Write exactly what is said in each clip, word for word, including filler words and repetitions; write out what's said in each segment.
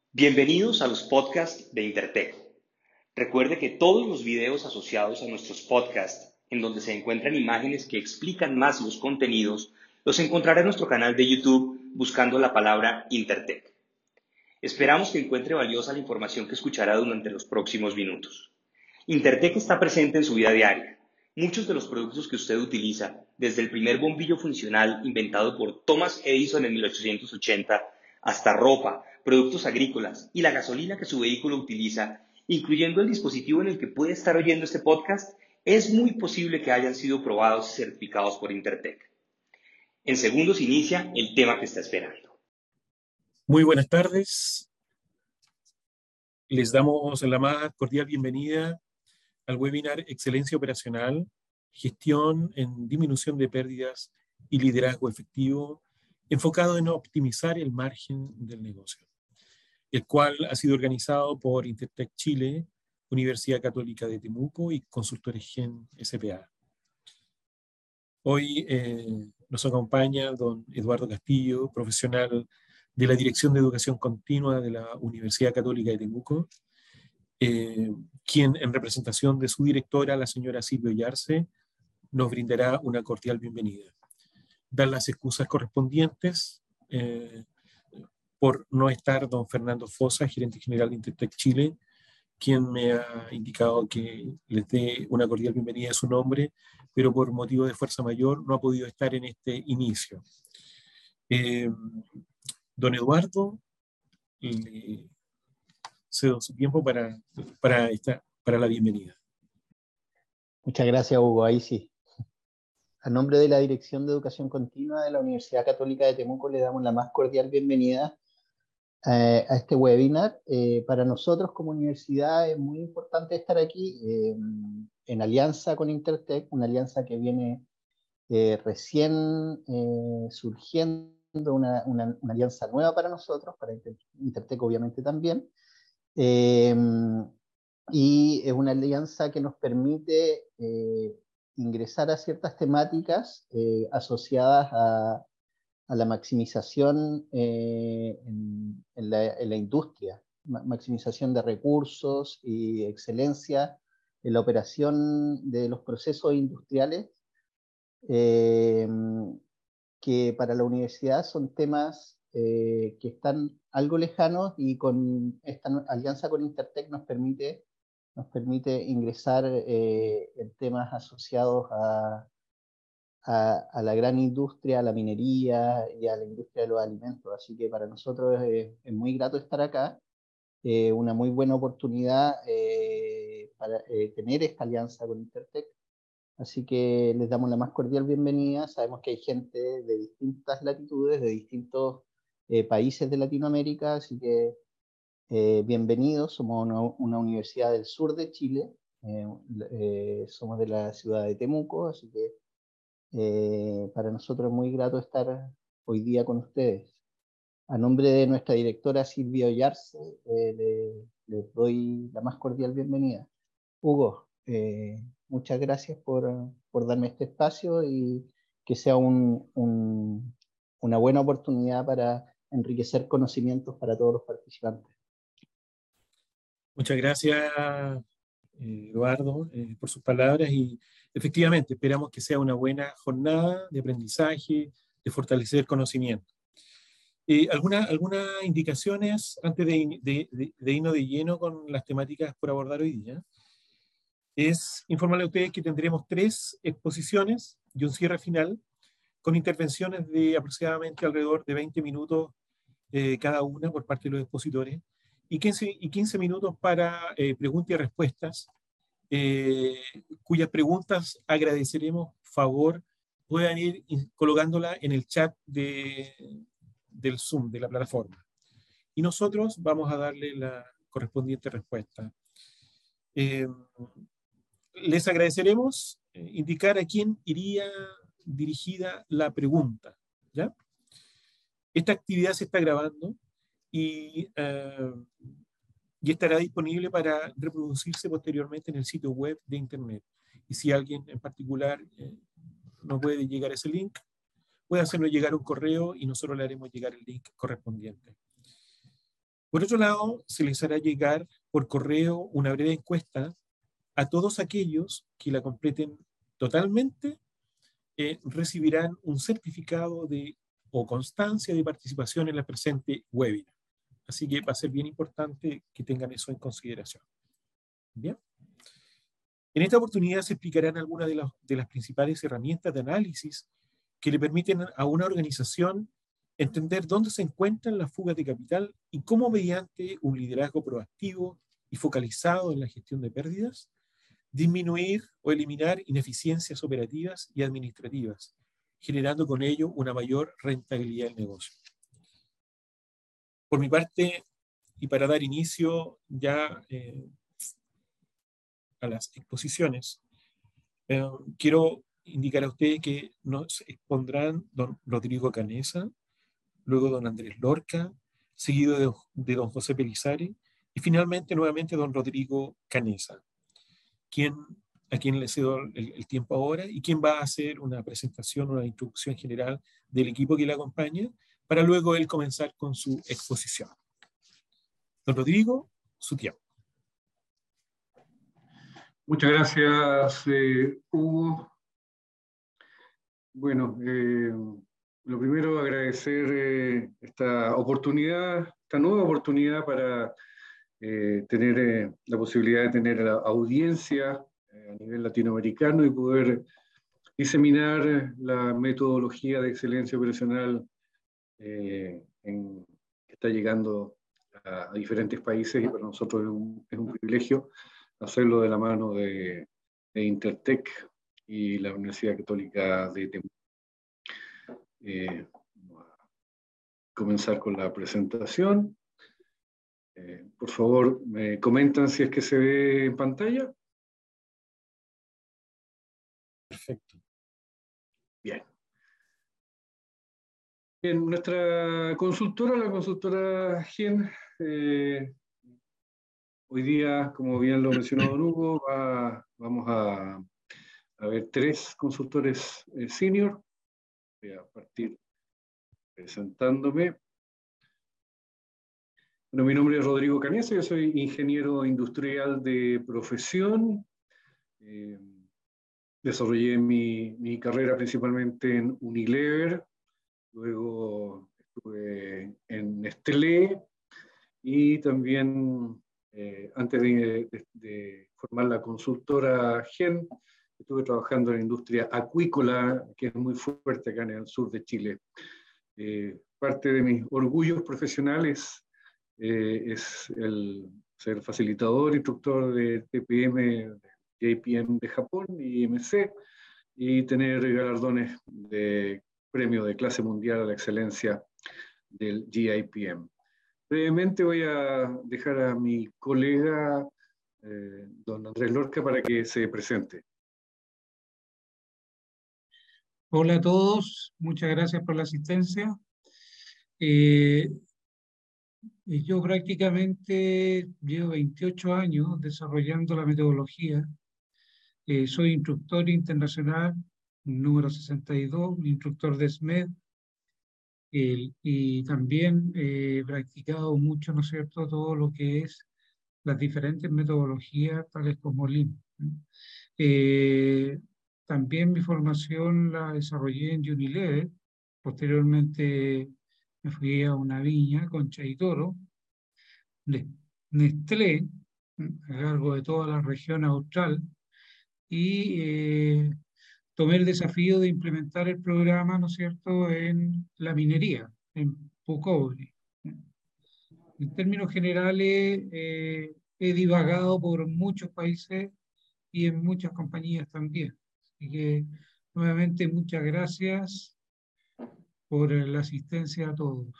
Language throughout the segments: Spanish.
Bienvenidos a los podcasts de Intertech. Recuerde que todos los videos asociados a nuestros podcasts, en donde se encuentran imágenes que explican más los contenidos, los encontrará en nuestro canal de YouTube buscando la palabra Intertech. Esperamos que encuentre valiosa la información que escuchará durante los próximos minutos. Intertech está presente en su vida diaria. Muchos de los productos que usted utiliza, desde el primer bombillo funcional inventado por Thomas Edison en mil ochocientos ochenta, hasta ropa, productos agrícolas y la gasolina que su vehículo utiliza, incluyendo el dispositivo en el que puede estar oyendo este podcast, es muy posible que hayan sido probados y certificados por Intertech. En segundos inicia el tema que está esperando. Muy buenas tardes. Les damos la más cordial bienvenida al webinar Excelencia Operacional, Gestión en Disminución de Pérdidas y Liderazgo Efectivo, enfocado en optimizar el margen del negocio, el cual ha sido organizado por Intertech Chile, Universidad Católica de Temuco y Consultores Gen S P A. Hoy eh, nos acompaña don Eduardo Castillo, profesional de la Dirección de Educación Continua de la Universidad Católica de Temuco, eh, quien en representación de su directora, la señora Silvia Yarse, nos brindará una cordial bienvenida. Dar las excusas correspondientes eh, por no estar don Fernando Fosa, gerente general de Intertech Chile, quien me ha indicado que les dé una cordial bienvenida a su nombre, pero por motivo de fuerza mayor no ha podido estar en este inicio. Eh, don Eduardo, le cedo su tiempo para, para, esta, para la bienvenida. Muchas gracias, Hugo. Ahí sí. A nombre de la Dirección de Educación Continua de la Universidad Católica de Temuco le damos la más cordial bienvenida eh, a este webinar. Eh, para nosotros como universidad es muy importante estar aquí eh, en alianza con Intertech, una alianza que viene eh, recién eh, surgiendo, una, una, una alianza nueva para nosotros, para Intertech obviamente también. Eh, y es una alianza que nos permite eh, ingresar a ciertas temáticas eh, asociadas a, a la maximización eh, en, en, la, en la industria, maximización de recursos y excelencia en la operación de los procesos industriales, eh, que para la universidad son temas eh, que están algo lejanos, y con esta alianza con Intertech nos permite, nos permite ingresar eh, en temas asociados a, a, a la gran industria, a la minería y a la industria de los alimentos. Así que para nosotros es, es muy grato estar acá, eh, una muy buena oportunidad eh, para eh, tener esta alianza con Intertech. Así que les damos la más cordial bienvenida. Sabemos que hay gente de distintas latitudes, de distintos eh, países de Latinoamérica, así que eh, bienvenidos. Somos una, una universidad del sur de Chile, eh, eh, somos de la ciudad de Temuco, así que eh, para nosotros es muy grato estar hoy día con ustedes. A nombre de nuestra directora Silvia Ollarse, eh, le, les doy la más cordial bienvenida. Hugo, eh, muchas gracias por, por darme este espacio y que sea un, un, una buena oportunidad para enriquecer conocimientos para todos los participantes. Muchas gracias, Eduardo, eh, por sus palabras, y efectivamente esperamos que sea una buena jornada de aprendizaje, de fortalecer conocimiento. Eh, ¿alguna, ¿Algunas indicaciones antes de, de, de, de irnos de lleno con las temáticas por abordar hoy día? Es informarle a ustedes que tendremos tres exposiciones y un cierre final con intervenciones de aproximadamente alrededor de veinte minutos eh, cada una por parte de los expositores, y quince, y quince minutos para eh, preguntas y respuestas, eh, cuyas preguntas agradeceremos favor puedan ir colocándola en el chat de, del Zoom, de la plataforma. Y nosotros vamos a darle la correspondiente respuesta. Eh, les agradeceremos eh, indicar a quién iría dirigida la pregunta, ¿ya? Esta actividad se está grabando y, uh, y estará disponible para reproducirse posteriormente en el sitio web de Internet. Y si alguien en particular eh, no puede llegar a ese link, puede hacernos llegar un correo y nosotros le haremos llegar el link correspondiente. Por otro lado, se les hará llegar por correo una breve encuesta a todos aquellos que la completen totalmente. Eh, recibirán un certificado de, o constancia de participación en la presente webinar. Así que va a ser bien importante que tengan eso en consideración. Bien. En esta oportunidad se explicarán algunas de, las, de las principales herramientas de análisis que le permiten a una organización entender dónde se encuentran las fugas de capital y cómo mediante un liderazgo proactivo y focalizado en la gestión de pérdidas, disminuir o eliminar ineficiencias operativas y administrativas, generando con ello una mayor rentabilidad del negocio. Por mi parte, y para dar inicio ya eh, a las exposiciones, eh, quiero indicar a ustedes que nos expondrán don Rodrigo Canessa, luego don Andrés Lorca, seguido de, de don José Pelizari, y finalmente nuevamente don Rodrigo Canessa, quien, a quien le cedo el, el tiempo ahora y quien va a hacer una presentación, una introducción general del equipo que le acompaña, para luego él comenzar con su exposición. Don Rodrigo, su tiempo. Muchas gracias, eh, Hugo. Bueno, eh, lo primero, agradecer eh, esta oportunidad, esta nueva oportunidad para eh, tener eh, la posibilidad de tener la audiencia eh, a nivel latinoamericano y poder diseminar la metodología de excelencia operacional eh, en, que está llegando a, a diferentes países, y para nosotros es un, es un privilegio hacerlo de la mano de, de Intertech y la Universidad Católica de Temuco. Eh, vamos a comenzar con la presentación. Eh, por favor, me comentan si es que se ve en pantalla. Perfecto. Bien. En nuestra consultora, la consultora Gen, eh, hoy día, como bien lo mencionó Don Hugo, va, vamos a, a ver tres consultores eh, senior. Voy a partir presentándome. Bueno, mi nombre es Rodrigo Canessa, yo soy ingeniero industrial de profesión. Eh, desarrollé mi, mi carrera principalmente en Unilever, luego estuve en Nestlé y también eh, antes de, de, de formar la consultora Gen, estuve trabajando en la industria acuícola, que es muy fuerte acá en el sur de Chile. Eh, parte de mis orgullos profesionales eh, es el ser facilitador, instructor de T P M, J P M de Japón y I M C, y tener galardones de premio de clase mundial a la excelencia del G I P M. Brevemente voy a dejar a mi colega, eh, don Andrés Lorca, para que se presente. Hola a todos, muchas gracias por la asistencia. Eh, yo prácticamente llevo veintiocho años desarrollando la metodología. Eh, soy instructor internacional número sesenta y dos, instructor de S M E D, eh, y también he practicado mucho, ¿no es cierto?, todo lo que es las diferentes metodologías, tales como Lean. Eh, también mi formación la desarrollé en Unilever. Posteriormente me fui a una viña, Concha y Toro, de Nestlé, a cargo de toda la región austral, y eh, tomé el desafío de implementar el programa, ¿no es cierto?, en la minería, en Pucobre. En términos generales, eh, he divagado por muchos países y en muchas compañías también. Así que, nuevamente, muchas gracias por la asistencia a todos.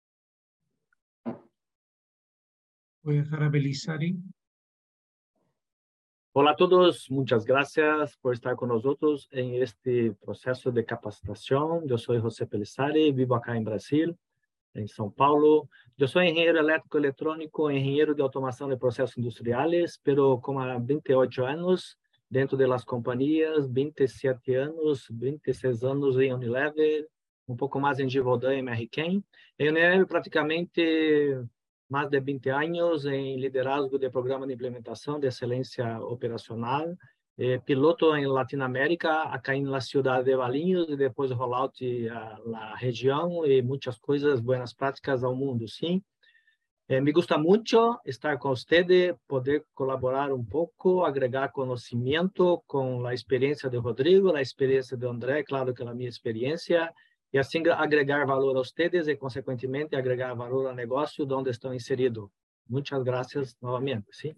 Voy a dejar a Pelizari. Hola a todos, muchas gracias por estar con nosotros en este proceso de capacitación. Yo soy José Pelizari, vivo acá en Brasil, en São Paulo. Yo soy ingeniero eléctrico electrónico, ingeniero de automación de procesos industriales, pero con veintiocho años dentro de las compañías, veintisiete años, veintiséis años en Unilever, un poco más en Givaudan y Merrick. En Unilever prácticamente más de veinte años en liderazgo de programa de implementación de excelencia operacional, eh, piloto en Latinoamérica, acá en la ciudad de Valinhos, y después rollout a la región y muchas cosas, buenas prácticas al mundo, ¿sí? Eh, me gusta mucho estar con ustedes, poder colaborar un poco, agregar conocimiento con la experiencia de Rodrigo, la experiencia de André, claro que la mi experiencia, y así agregar valor a ustedes y, consecuentemente, agregar valor al negocio donde están inseridos. Muchas gracias nuevamente, ¿sí?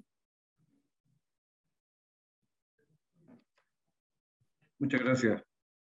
Muchas gracias.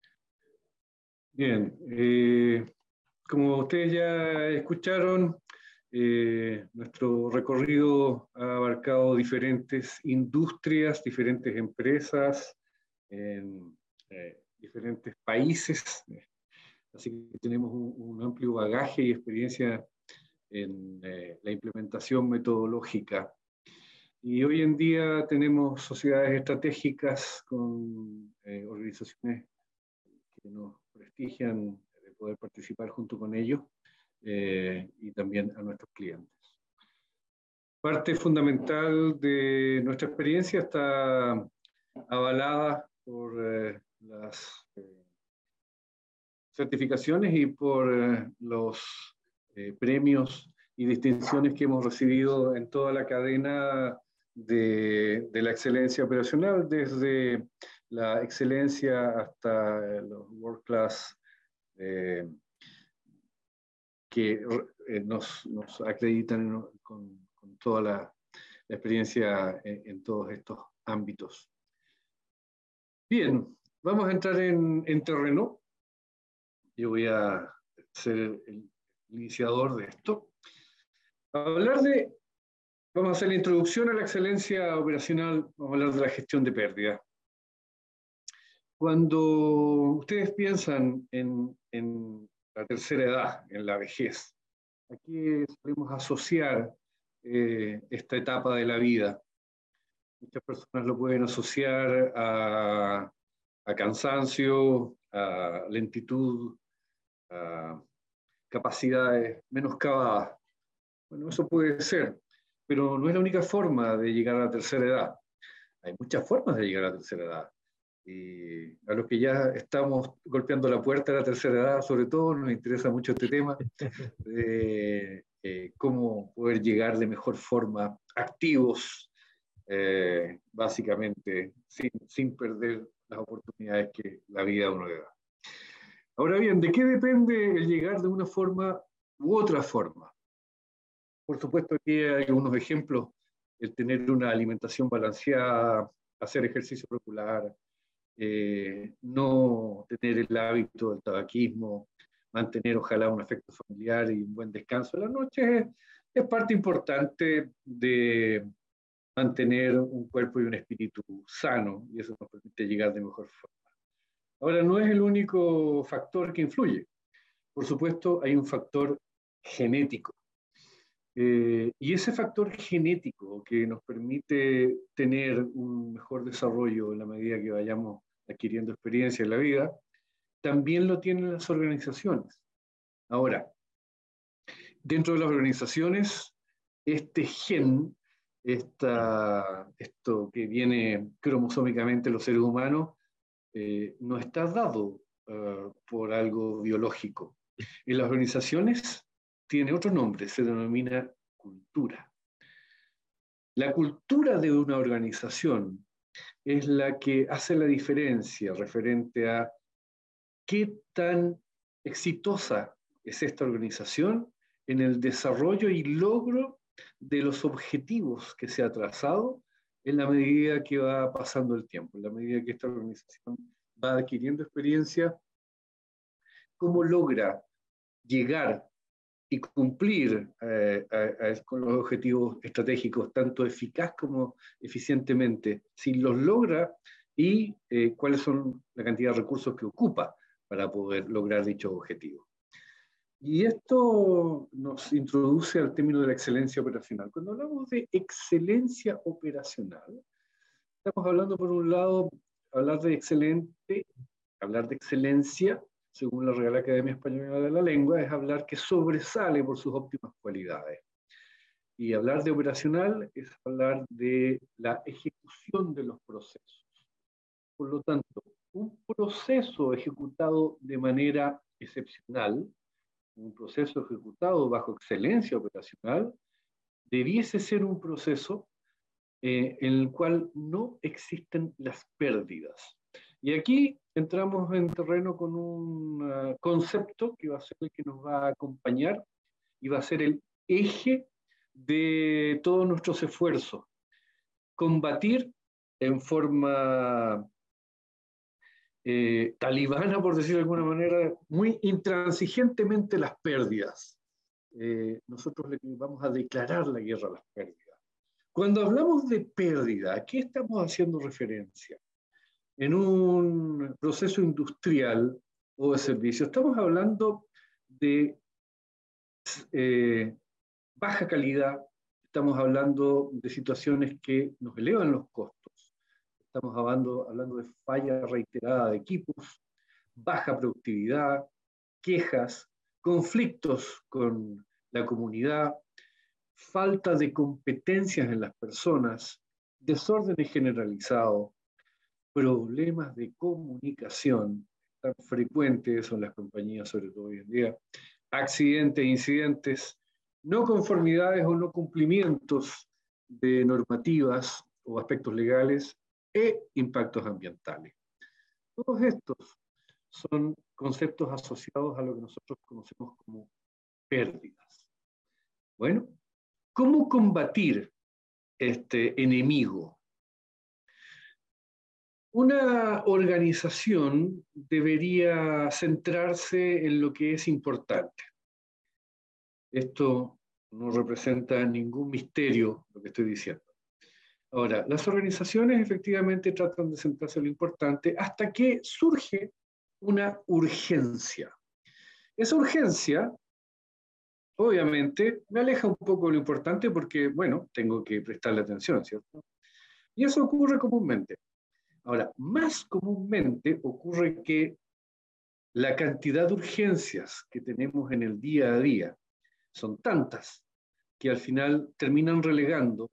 Bien, eh, como ustedes ya escucharon, eh, nuestro recorrido ha abarcado diferentes industrias, diferentes empresas, en eh, diferentes países, así que tenemos un, un amplio bagaje y experiencia en eh, la implementación metodológica. Y hoy en día tenemos sociedades estratégicas con eh, organizaciones que nos prestigian de poder participar junto con ellos eh, y también a nuestros clientes. Parte fundamental de nuestra experiencia está avalada por eh, las eh, certificaciones y por eh, los eh, premios y distinciones que hemos recibido en toda la cadena de, de la excelencia operacional, desde la excelencia hasta los World Class eh, que eh, nos, nos acreditan con, con toda la, la experiencia en, en todos estos ámbitos. Bien, vamos a entrar en, en terreno. Yo voy a ser el iniciador de esto. Hablar de, vamos a hacer la introducción a la excelencia operacional, vamos a hablar de la gestión de pérdida. Cuando ustedes piensan en, en la tercera edad, en la vejez, aquí solemos asociar eh, esta etapa de la vida. Muchas personas lo pueden asociar a, a cansancio, a lentitud, a capacidades menoscabadas. Bueno, eso puede ser, pero no es la única forma de llegar a la tercera edad. Hay muchas formas de llegar a la tercera edad. Y a los que ya estamos golpeando la puerta de la tercera edad, sobre todo, nos interesa mucho este tema de eh, cómo poder llegar de mejor forma, activos, eh, básicamente, sin, sin perder las oportunidades que la vida a uno le da. Ahora bien, ¿de qué depende el llegar de una forma u otra forma? Por supuesto, aquí hay algunos ejemplos: el tener una alimentación balanceada, hacer ejercicio regular, eh, no tener el hábito del tabaquismo, mantener ojalá un afecto familiar y un buen descanso en la noche, es, es parte importante de mantener un cuerpo y un espíritu sano, y eso nos permite llegar de mejor forma. Ahora, no es el único factor que influye. Por supuesto, hay un factor genético. Eh, y ese factor genético que nos permite tener un mejor desarrollo en la medida que vayamos adquiriendo experiencia en la vida, también lo tienen las organizaciones. Ahora, dentro de las organizaciones, este gen, esta, esto que viene cromosómicamente en los seres humanos, eh, no está dado uh, por algo biológico. En las organizaciones tiene otro nombre, se denomina cultura. La cultura de una organización es la que hace la diferencia referente a qué tan exitosa es esta organización en el desarrollo y logro de los objetivos que se ha trazado en la medida que va pasando el tiempo, en la medida que esta organización va adquiriendo experiencia, cómo logra llegar y cumplir eh, a, a, con los objetivos estratégicos tanto eficaz como eficientemente, si los logra y eh, cuáles son la cantidad de recursos que ocupa para poder lograr dichos objetivos. Y esto nos introduce al término de la excelencia operacional. Cuando hablamos de excelencia operacional, estamos hablando, por un lado, hablar de excelente, hablar de excelencia, según la Real Academia Española de la Lengua, es hablar que sobresale por sus óptimas cualidades. Y hablar de operacional es hablar de la ejecución de los procesos. Por lo tanto, un proceso ejecutado de manera excepcional, un proceso ejecutado bajo excelencia operacional, debiese ser un proceso eh, en el cual no existen las pérdidas. Y aquí entramos en terreno con un uh, concepto que va a ser el que nos va a acompañar y va a ser el eje de todos nuestros esfuerzos. Combatir en forma eh, talibana, por decirlo de alguna manera, muy intransigentemente las pérdidas. Eh, nosotros le vamos a declarar la guerra a las pérdidas. Cuando hablamos de pérdida, ¿a qué estamos haciendo referencia? En un proceso industrial o de servicio, estamos hablando de eh, baja calidad, estamos hablando de situaciones que nos elevan los costos, estamos hablando, hablando de falla reiterada de equipos, baja productividad, quejas, conflictos con la comunidad, falta de competencias en las personas, desórdenes generalizados, problemas de comunicación tan frecuentes en las compañías, sobre todo hoy en día, accidentes, incidentes, no conformidades o no cumplimientos de normativas o aspectos legales e impactos ambientales. Todos estos son conceptos asociados a lo que nosotros conocemos como pérdidas. Bueno, ¿cómo combatir este enemigo? Una organización debería centrarse en lo que es importante. Esto no representa ningún misterio lo que estoy diciendo. Ahora, las organizaciones efectivamente tratan de centrarse en lo importante hasta que surge una urgencia. Esa urgencia, obviamente, me aleja un poco de lo importante porque, bueno, tengo que prestarle atención, ¿cierto? Y eso ocurre comúnmente. Ahora, más comúnmente ocurre que la cantidad de urgencias que tenemos en el día a día son tantas que al final terminan relegando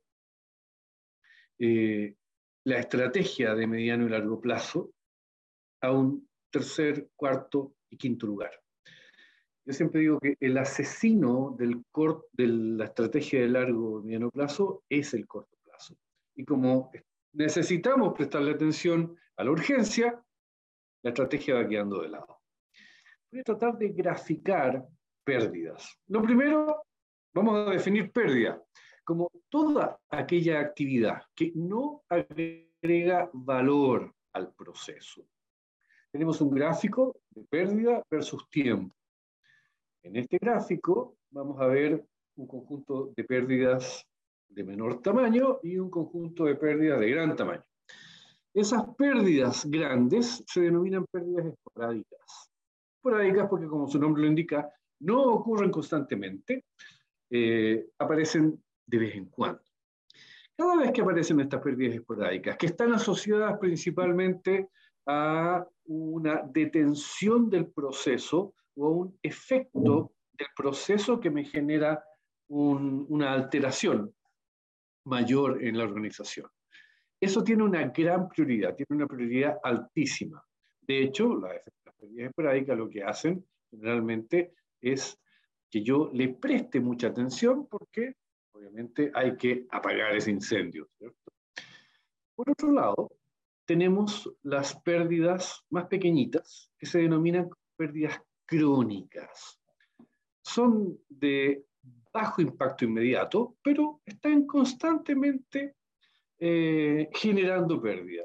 eh, la estrategia de mediano y largo plazo a un tercer, cuarto y quinto lugar. Yo siempre digo que el asesino del cort, de la estrategia de largo y mediano plazo es el corto plazo. Y como necesitamos prestarle atención a la urgencia, la estrategia va quedando de lado. Voy a tratar de graficar pérdidas. Lo primero, vamos a definir pérdida como toda aquella actividad que no agrega valor al proceso. Tenemos un gráfico de pérdida versus tiempo. En este gráfico vamos a ver un conjunto de pérdidas de menor tamaño y un conjunto de pérdidas de gran tamaño. Esas pérdidas grandes se denominan pérdidas esporádicas. Esporádicas porque, como su nombre lo indica, no ocurren constantemente, eh, aparecen de vez en cuando. Cada vez que aparecen estas pérdidas esporádicas, que están asociadas principalmente a una detención del proceso o a un efecto del proceso que me genera un, una alteración mayor en la organización. Eso tiene una gran prioridad, tiene una prioridad altísima. De hecho, las, las pérdidas esporádicas lo que hacen generalmente es que yo le preste mucha atención porque obviamente hay que apagar ese incendio, ¿cierto? Por otro lado, tenemos las pérdidas más pequeñitas que se denominan pérdidas crónicas. Son de bajo impacto inmediato, pero están constantemente eh, generando pérdida.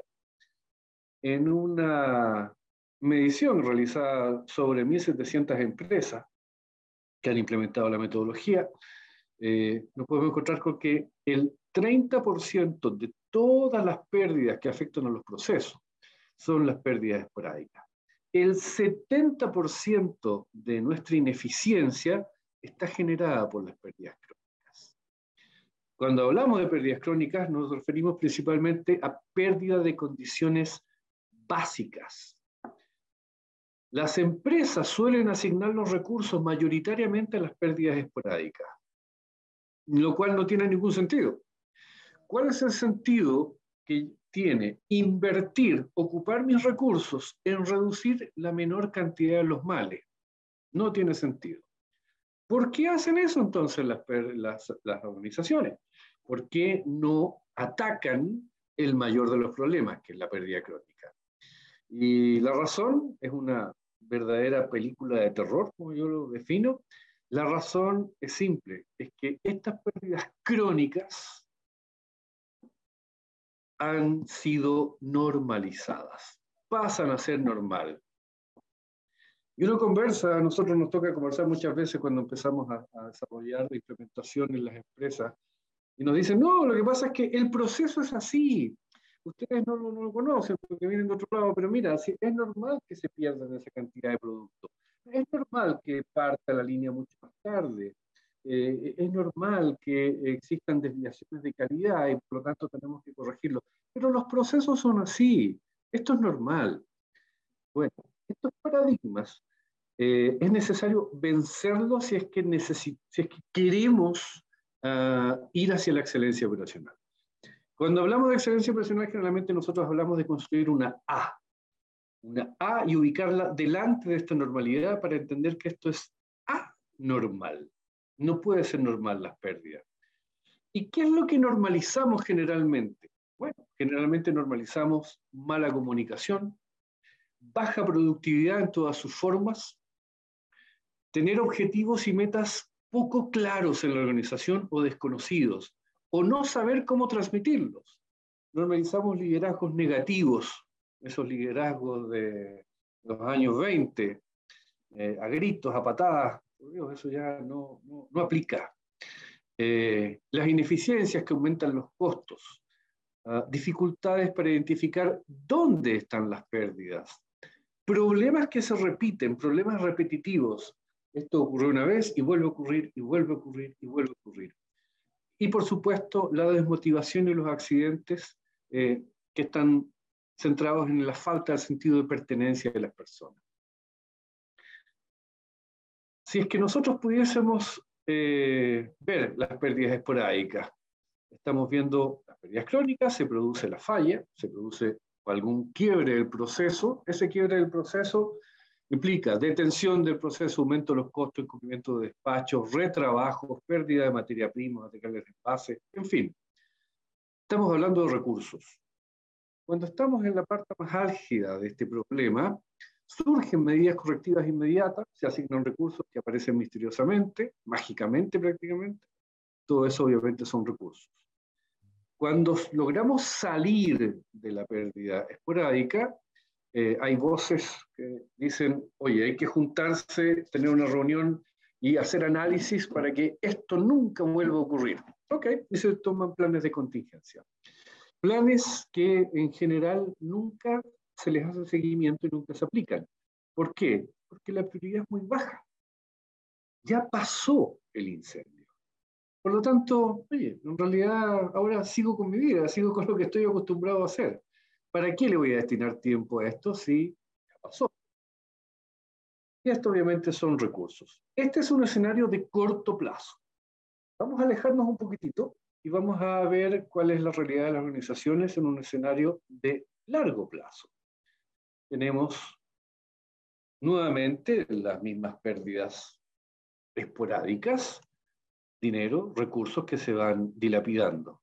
En una medición realizada sobre mil setecientas empresas que han implementado la metodología, eh, nos podemos encontrar con que el treinta por ciento de todas las pérdidas que afectan a los procesos son las pérdidas esporádicas. El setenta por ciento de nuestra ineficiencia está generada por las pérdidas crónicas. Cuando hablamos de pérdidas crónicas, nos referimos principalmente a pérdida de condiciones básicas. Las empresas suelen asignar los recursos mayoritariamente a las pérdidas esporádicas. lo cual no tiene ningún sentido. ¿Cuál es el sentido que tiene invertir, ocupar mis recursos en reducir la menor cantidad de los males? No tiene sentido. ¿Por qué hacen eso entonces las, las, las organizaciones? ¿Por qué no atacan el mayor de los problemas, que es la pérdida crónica? Y la razón es una verdadera película de terror, como yo lo defino. La razón es simple, es que estas pérdidas crónicas han sido normalizadas, pasan a ser normal. Y uno conversa, a nosotros nos toca conversar muchas veces cuando empezamos a, a desarrollar la implementación en las empresas, y nos dicen, no, lo que pasa es que el proceso es así, ustedes no, no, no lo conocen porque vienen de otro lado, pero mira, si es normal que se pierdan esa cantidad de productos, es normal que parta la línea mucho más tarde, eh, es normal que existan desviaciones de calidad y por lo tanto tenemos que corregirlo, pero los procesos son así, esto es normal. Bueno, estos paradigmas eh, es necesario vencerlos si es que, necesi- si es que queremos uh, ir hacia la excelencia operacional. Cuando hablamos de excelencia operacional, generalmente nosotros hablamos de construir una A, una A y ubicarla delante de esta normalidad para entender que esto es anormal. No puede ser normal las pérdidas. ¿Y qué es lo que normalizamos generalmente? Bueno, generalmente normalizamos mala comunicación, baja productividad en todas sus formas, tener objetivos y metas poco claros en la organización o desconocidos, o no saber cómo transmitirlos. Normalizamos liderazgos negativos, esos liderazgos de los años veinte, eh, a gritos, a patadas, por Dios, eso ya no, no, no aplica. Eh, las ineficiencias que aumentan los costos, uh, dificultades para identificar dónde están las pérdidas, problemas que se repiten, problemas repetitivos. Esto ocurrió una vez y vuelve a ocurrir, y vuelve a ocurrir, y vuelve a ocurrir. Y por supuesto, la desmotivación y los accidentes eh, que están centrados en la falta del sentido de pertenencia de las personas. Si es que nosotros pudiésemos eh, ver las pérdidas esporádicas, estamos viendo las pérdidas crónicas, se produce la falla, se produce algún quiebre del proceso, ese quiebre del proceso implica detención del proceso, aumento de los costos, incumplimiento de despachos, retrabajos, pérdida de materia prima, materiales de envase, en fin. Estamos hablando de recursos. Cuando estamos en la parte más álgida de este problema, surgen medidas correctivas inmediatas, se asignan recursos que aparecen misteriosamente, mágicamente prácticamente. Todo eso obviamente son recursos. Cuando logramos salir de la pérdida esporádica, eh, hay voces que dicen, oye, hay que juntarse, tener una reunión y hacer análisis para que esto nunca vuelva a ocurrir. Ok, y se toman planes de contingencia. Planes que en general nunca se les hace seguimiento y nunca se aplican. ¿Por qué? Porque la prioridad es muy baja. Ya pasó el incendio. Por lo tanto, oye, en realidad ahora sigo con mi vida, sigo con lo que estoy acostumbrado a hacer. ¿Para qué le voy a destinar tiempo a esto si ya pasó? Y esto obviamente son recursos. Este es un escenario de corto plazo. Vamos a alejarnos un poquitito y vamos a ver cuál es la realidad de las organizaciones en un escenario de largo plazo. Tenemos nuevamente las mismas pérdidas esporádicas, dinero, recursos que se van dilapidando.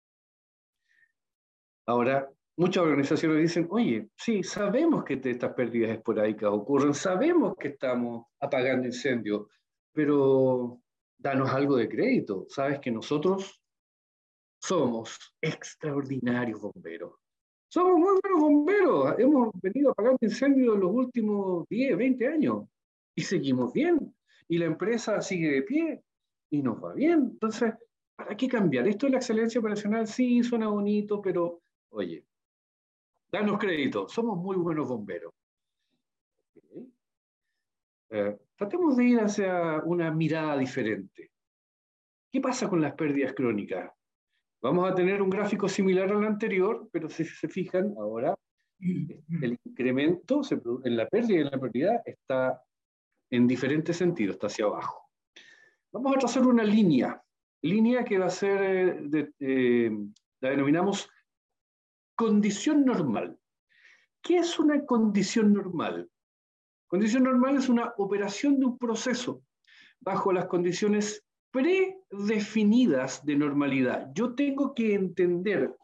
Ahora, muchas organizaciones dicen, oye, sí, sabemos que estas pérdidas esporádicas ocurren, sabemos que estamos apagando incendios, pero danos algo de crédito. Sabes que nosotros somos extraordinarios bomberos. Somos muy buenos bomberos. Hemos venido apagando incendios en los últimos diez, veinte años y seguimos bien. Y la empresa sigue de pie y nos va bien. Entonces, ¿para qué cambiar? Esto de la excelencia operacional sí suena bonito, pero oye, danos crédito, somos muy buenos bomberos. Okay. Eh, tratemos de ir hacia una mirada diferente. ¿Qué pasa con las pérdidas crónicas? Vamos a tener un gráfico similar al anterior, pero si se fijan, ahora el incremento se en la pérdida y en la pérdida está en diferentes sentidos, está hacia abajo. Vamos a trazar una línea línea que va a ser, eh, de, eh, la denominamos condición normal. ¿Qué es una condición normal? Condición normal es una operación de un proceso bajo las condiciones predefinidas de normalidad. Yo tengo que entender,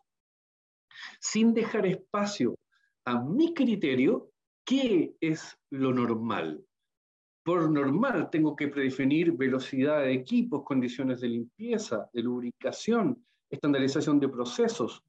sin dejar espacio a mi criterio, qué es lo normal. Por normal tengo que predefinir velocidad de equipos, condiciones de limpieza, de lubricación, estandarización de procesos,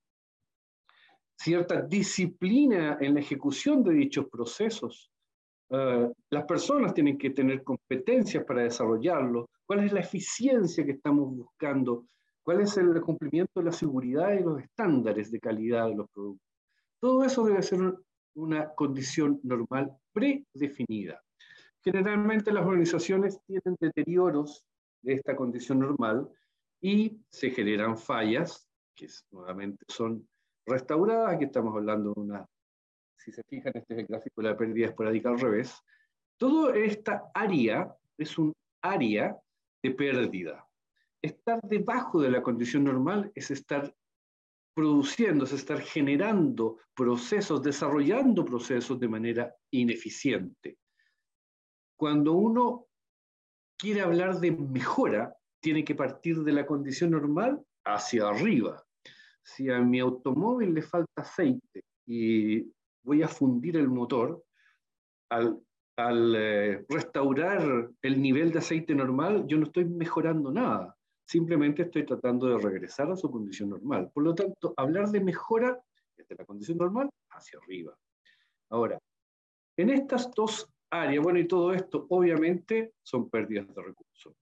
cierta disciplina en la ejecución de dichos procesos. Uh, las personas tienen que tener competencias para desarrollarlo. ¿Cuál es la eficiencia que estamos buscando? ¿Cuál es el cumplimiento de la seguridad y los estándares de calidad de los productos? Todo eso debe ser una condición normal predefinida. Generalmente las organizaciones tienen deterioros de esta condición normal y se generan fallas, que nuevamente son restauradas. Aquí estamos hablando de una, si se fijan, este es el gráfico de la pérdida esporádica al revés. Toda esta área es un área de pérdida. Estar debajo de la condición normal es estar produciendo, es estar generando procesos, desarrollando procesos de manera ineficiente. Cuando uno quiere hablar de mejora, tiene que partir de la condición normal hacia arriba. Si a mi automóvil le falta aceite y voy a fundir el motor, al, al eh, restaurar el nivel de aceite normal, yo no estoy mejorando nada. Simplemente estoy tratando de regresar a su condición normal. Por lo tanto, hablar de mejora desde la condición normal hacia arriba. Ahora, en estas dos áreas, bueno, y todo esto obviamente son pérdidas de recursos.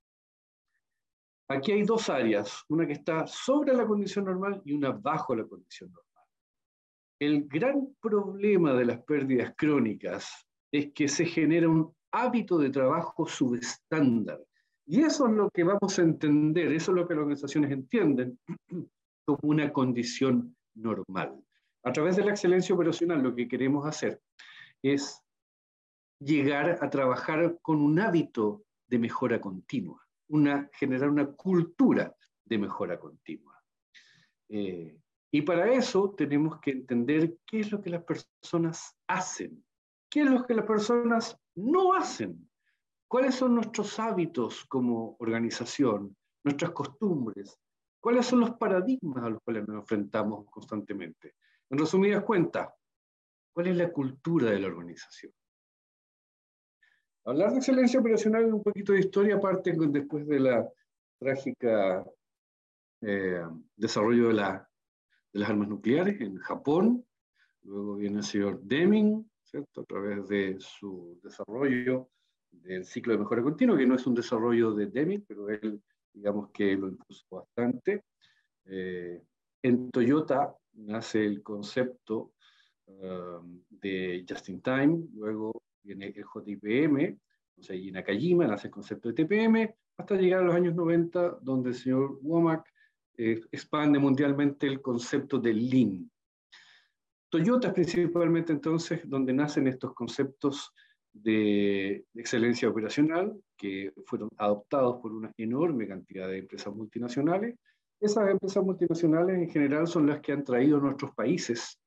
Aquí hay dos áreas, una que está sobre la condición normal y una bajo la condición normal. El gran problema de las pérdidas crónicas es que se genera un hábito de trabajo subestándar. Y eso es lo que vamos a entender, eso es lo que las organizaciones entienden como una condición normal. A través de la excelencia operacional lo que queremos hacer es llegar a trabajar con un hábito de mejora continua, una, generar una cultura de mejora continua. Eh, y para eso tenemos que entender qué es lo que las personas hacen, qué es lo que las personas no hacen, cuáles son nuestros hábitos como organización, nuestras costumbres, cuáles son los paradigmas a los cuales nos enfrentamos constantemente. En resumidas cuentas, ¿cuál es la cultura de la organización? Hablar de excelencia operacional es un poquito de historia, aparte después de la trágica eh, desarrollo de, la, de las armas nucleares en Japón. Luego viene el señor Deming, ¿cierto? A través de su desarrollo del ciclo de mejora continua, que no es un desarrollo de Deming, pero él, digamos que lo impuso bastante. Eh, en Toyota nace el concepto um, de Just in Time, luego viene el J I P M, o sea, y en Nakajima nace el concepto de T P M, hasta llegar a los años noventa, donde el señor Womack eh, expande mundialmente el concepto de Lean. Toyota es principalmente entonces donde nacen estos conceptos de, de excelencia operacional, que fueron adoptados por una enorme cantidad de empresas multinacionales. Esas empresas multinacionales en general son las que han traído a nuestros países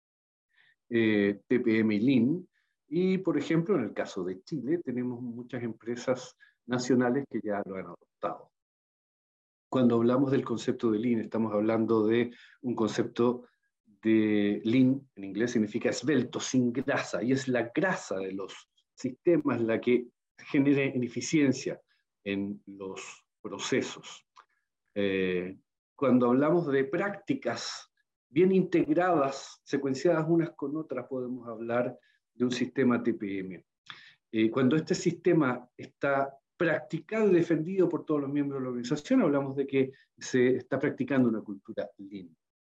eh, T P M y Lean. Y, por ejemplo, en el caso de Chile, tenemos muchas empresas nacionales que ya lo han adoptado. Cuando hablamos del concepto de Lean, estamos hablando de un concepto de Lean, en inglés significa esbelto, sin grasa, y es la grasa de los sistemas la que genera ineficiencia en los procesos. Eh, cuando hablamos de prácticas bien integradas, secuenciadas unas con otras, podemos hablar de un sistema T P M. Eh, cuando este sistema está practicado y defendido por todos los miembros de la organización, hablamos de que se está practicando una cultura Lean.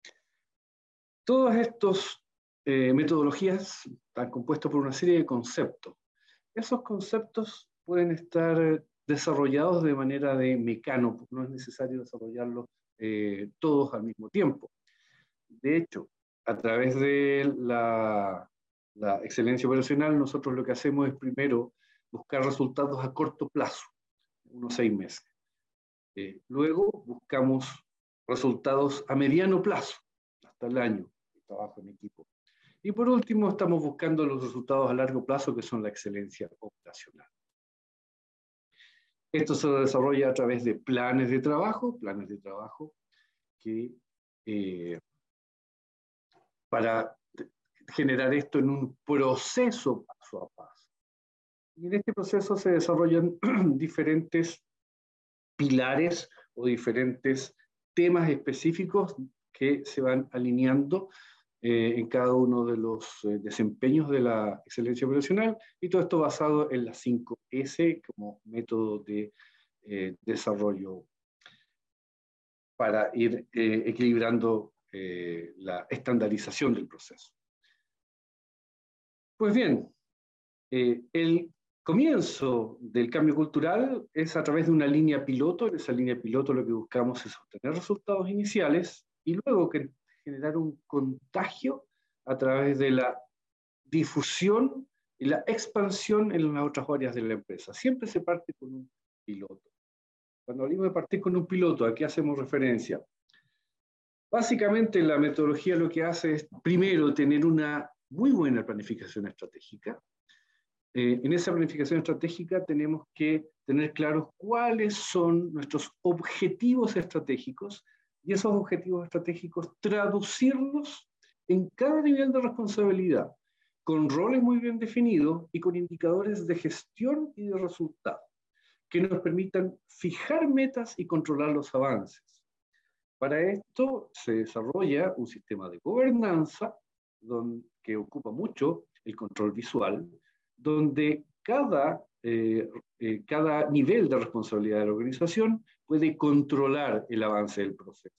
Todas estas eh, metodologías están compuestas por una serie de conceptos. Esos conceptos pueden estar desarrollados de manera de mecano, porque no es necesario desarrollarlos eh, todos al mismo tiempo. De hecho, a través de la, la excelencia operacional, nosotros lo que hacemos es primero buscar resultados a corto plazo, unos seis meses. Eh, luego buscamos resultados a mediano plazo, hasta el año de trabajo en equipo. Y por último, estamos buscando los resultados a largo plazo, que son la excelencia operacional. Esto se desarrolla a través de planes de trabajo, planes de trabajo que eh, para generar esto en un proceso paso a paso. Y en este proceso se desarrollan diferentes pilares o diferentes temas específicos que se van alineando eh, en cada uno de los eh, desempeños de la excelencia operacional, y todo esto basado en las cinco ese como método de eh, desarrollo para ir eh, equilibrando eh, la estandarización del proceso. Pues bien, eh, el comienzo del cambio cultural es a través de una línea piloto. En esa línea piloto lo que buscamos es obtener resultados iniciales y luego que generar un contagio a través de la difusión y la expansión en las otras áreas de la empresa. Siempre se parte con un piloto. Cuando hablamos de partir con un piloto, ¿a qué hacemos referencia? Básicamente la metodología lo que hace es, primero, tener una muy buena planificación estratégica. Eh, en esa planificación estratégica tenemos que tener claros cuáles son nuestros objetivos estratégicos, y esos objetivos estratégicos traducirlos en cada nivel de responsabilidad, con roles muy bien definidos y con indicadores de gestión y de resultado, que nos permitan fijar metas y controlar los avances. Para esto se desarrolla un sistema de gobernanza donde, que ocupa mucho el control visual, donde cada, eh, eh, cada nivel de responsabilidad de la organización puede controlar el avance del proceso.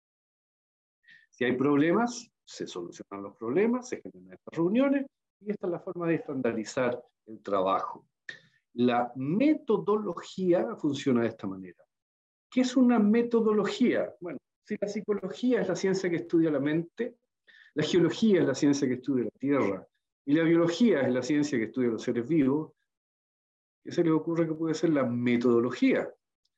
Si hay problemas, se solucionan los problemas, se generan estas reuniones, y esta es la forma de estandarizar el trabajo. La metodología funciona de esta manera. ¿Qué es una metodología? Bueno, si la psicología es la ciencia que estudia la mente, la geología es la ciencia que estudia la tierra, y la biología es la ciencia que estudia los seres vivos, ¿qué se les ocurre que puede ser la metodología?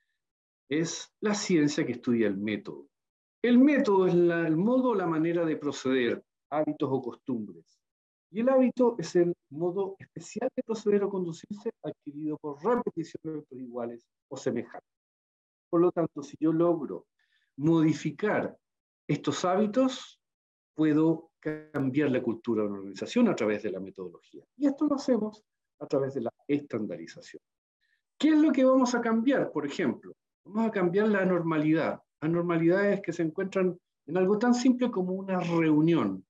Es la ciencia que estudia el método. El método es la, el modo o la manera de proceder, hábitos o costumbres. Y el hábito es el modo especial de proceder o conducirse adquirido por repetición de hábitos iguales o semejantes. Por lo tanto, si yo logro modificar estos hábitos, puedo cambiar la cultura de una organización a través de la metodología. Y esto lo hacemos a través de la estandarización. ¿Qué es lo que vamos a cambiar? Por ejemplo, vamos a cambiar la anormalidad. Anormalidades que se encuentran en algo tan simple como una reunión.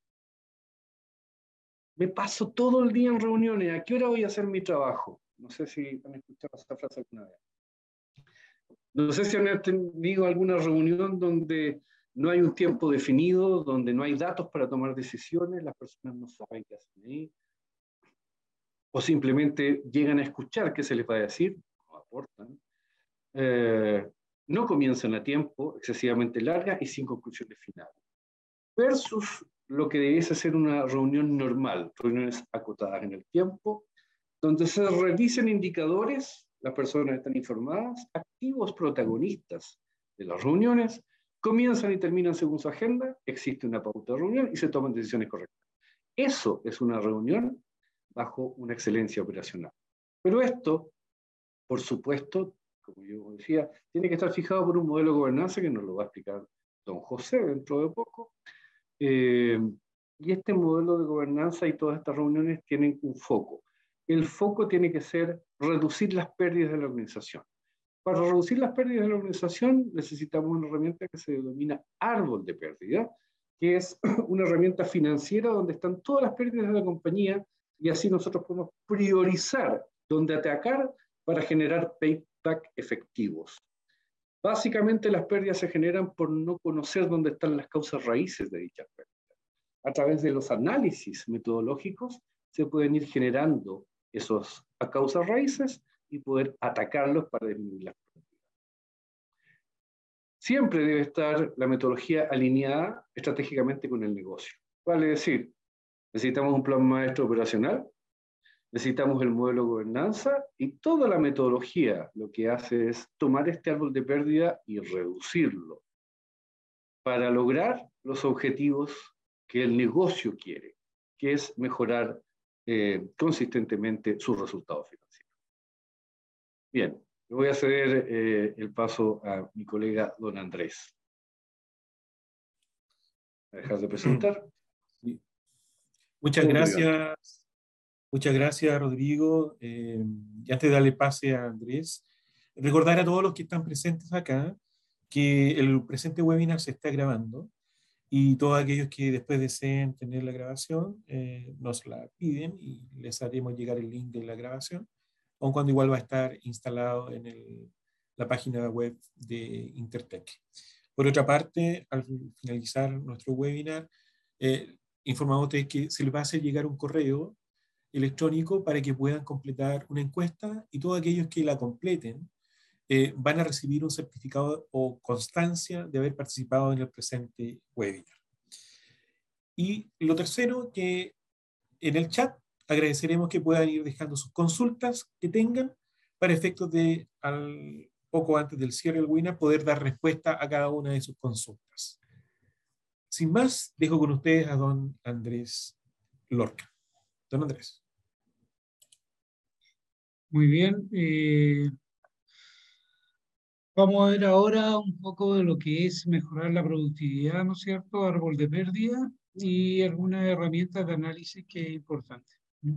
Me paso todo el día en reuniones. ¿A qué hora voy a hacer mi trabajo? No sé si han escuchado esa frase alguna vez. No sé si han tenido alguna reunión donde no hay un tiempo definido, donde no hay datos para tomar decisiones, las personas no saben qué hacen ahí, o simplemente llegan a escuchar qué se les va a decir, no aportan, eh, no comienzan a tiempo, excesivamente largas y sin conclusiones finales. Versus lo que debiese ser una reunión normal, reuniones acotadas en el tiempo, donde se revisen indicadores, las personas están informadas, activos protagonistas de las reuniones, comienzan y terminan según su agenda, existe una pauta de reunión y se toman decisiones correctas. Eso es una reunión bajo una excelencia operacional. Pero esto, por supuesto, como yo decía, tiene que estar fijado por un modelo de gobernanza que nos lo va a explicar don José dentro de poco. Eh, y este modelo de gobernanza y todas estas reuniones tienen un foco. El foco tiene que ser reducir las pérdidas de la organización. Para reducir las pérdidas de la organización necesitamos una herramienta que se denomina árbol de pérdida, que es una herramienta financiera donde están todas las pérdidas de la compañía, y así nosotros podemos priorizar dónde atacar para generar payback efectivos. Básicamente las pérdidas se generan por no conocer dónde están las causas raíces de dichas pérdidas. A través de los análisis metodológicos se pueden ir generando esos causas raíces y poder atacarlos para disminuir las pérdidas. Siempre debe estar la metodología alineada estratégicamente con el negocio. Vale decir, necesitamos un plan maestro operacional, Necesitamos el modelo de gobernanza y toda la metodología lo que hace es tomar este árbol de pérdida y reducirlo para lograr los objetivos que el negocio quiere, que es mejorar eh, consistentemente sus resultados financieros. Bien, le voy a ceder eh, el paso a mi colega don Andrés. ¿Voy a dejar de presentar? Muchas gracias. Muchas gracias, Rodrigo. Eh, y antes de darle pase a Andrés, recordar a todos los que están presentes acá que el presente webinar se está grabando y todos aquellos que después deseen tener la grabación eh, nos la piden y les haremos llegar el link de la grabación, aun cuando igual va a estar instalado en el, la página web de Intertech. Por otra parte, al finalizar nuestro webinar, eh, informamos de que se les va a hacer llegar un correo electrónico para que puedan completar una encuesta y todos aquellos que la completen eh, van a recibir un certificado o constancia de haber participado en el presente webinar. Y lo tercero, que en el chat agradeceremos que puedan ir dejando sus consultas que tengan para efectos de, al, poco antes del cierre del webinar, poder dar respuesta a cada una de sus consultas. Sin más, dejo con ustedes a don Andrés Lorca. Don Andrés. Muy bien. Eh, vamos a ver ahora un poco de lo que es mejorar la productividad, ¿no es cierto? Árbol de pérdida y algunas herramientas de análisis que es importante.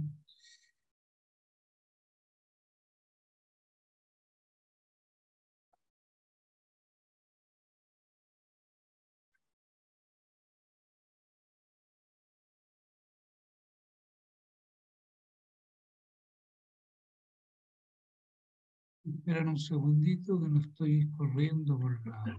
Esperan un segundito que no estoy corriendo por la...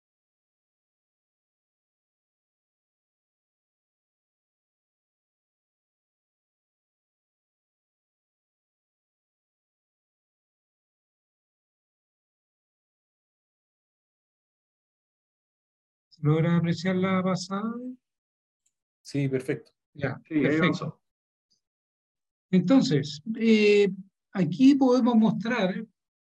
¿Se logra apreciar la pasada? Sí, perfecto. Ya, Sí, perfecto. Entonces, eh, aquí podemos mostrar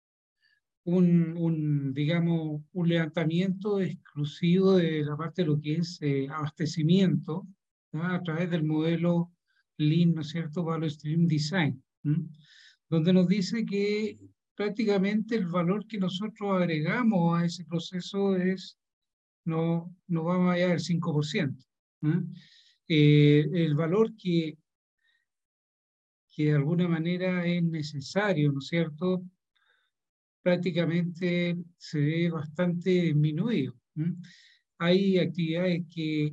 un, un, digamos, un levantamiento exclusivo de la parte de lo que es eh, abastecimiento, ¿no? A través del modelo Lean, ¿no es cierto?, Value Stream Design, ¿no? Donde nos dice que prácticamente el valor que nosotros agregamos a ese proceso es, no, no va más allá del cinco por ciento. ¿No? Eh, el valor que, que de alguna manera es necesario, ¿no es cierto?, prácticamente se ve bastante disminuido. ¿Mm? Hay actividades que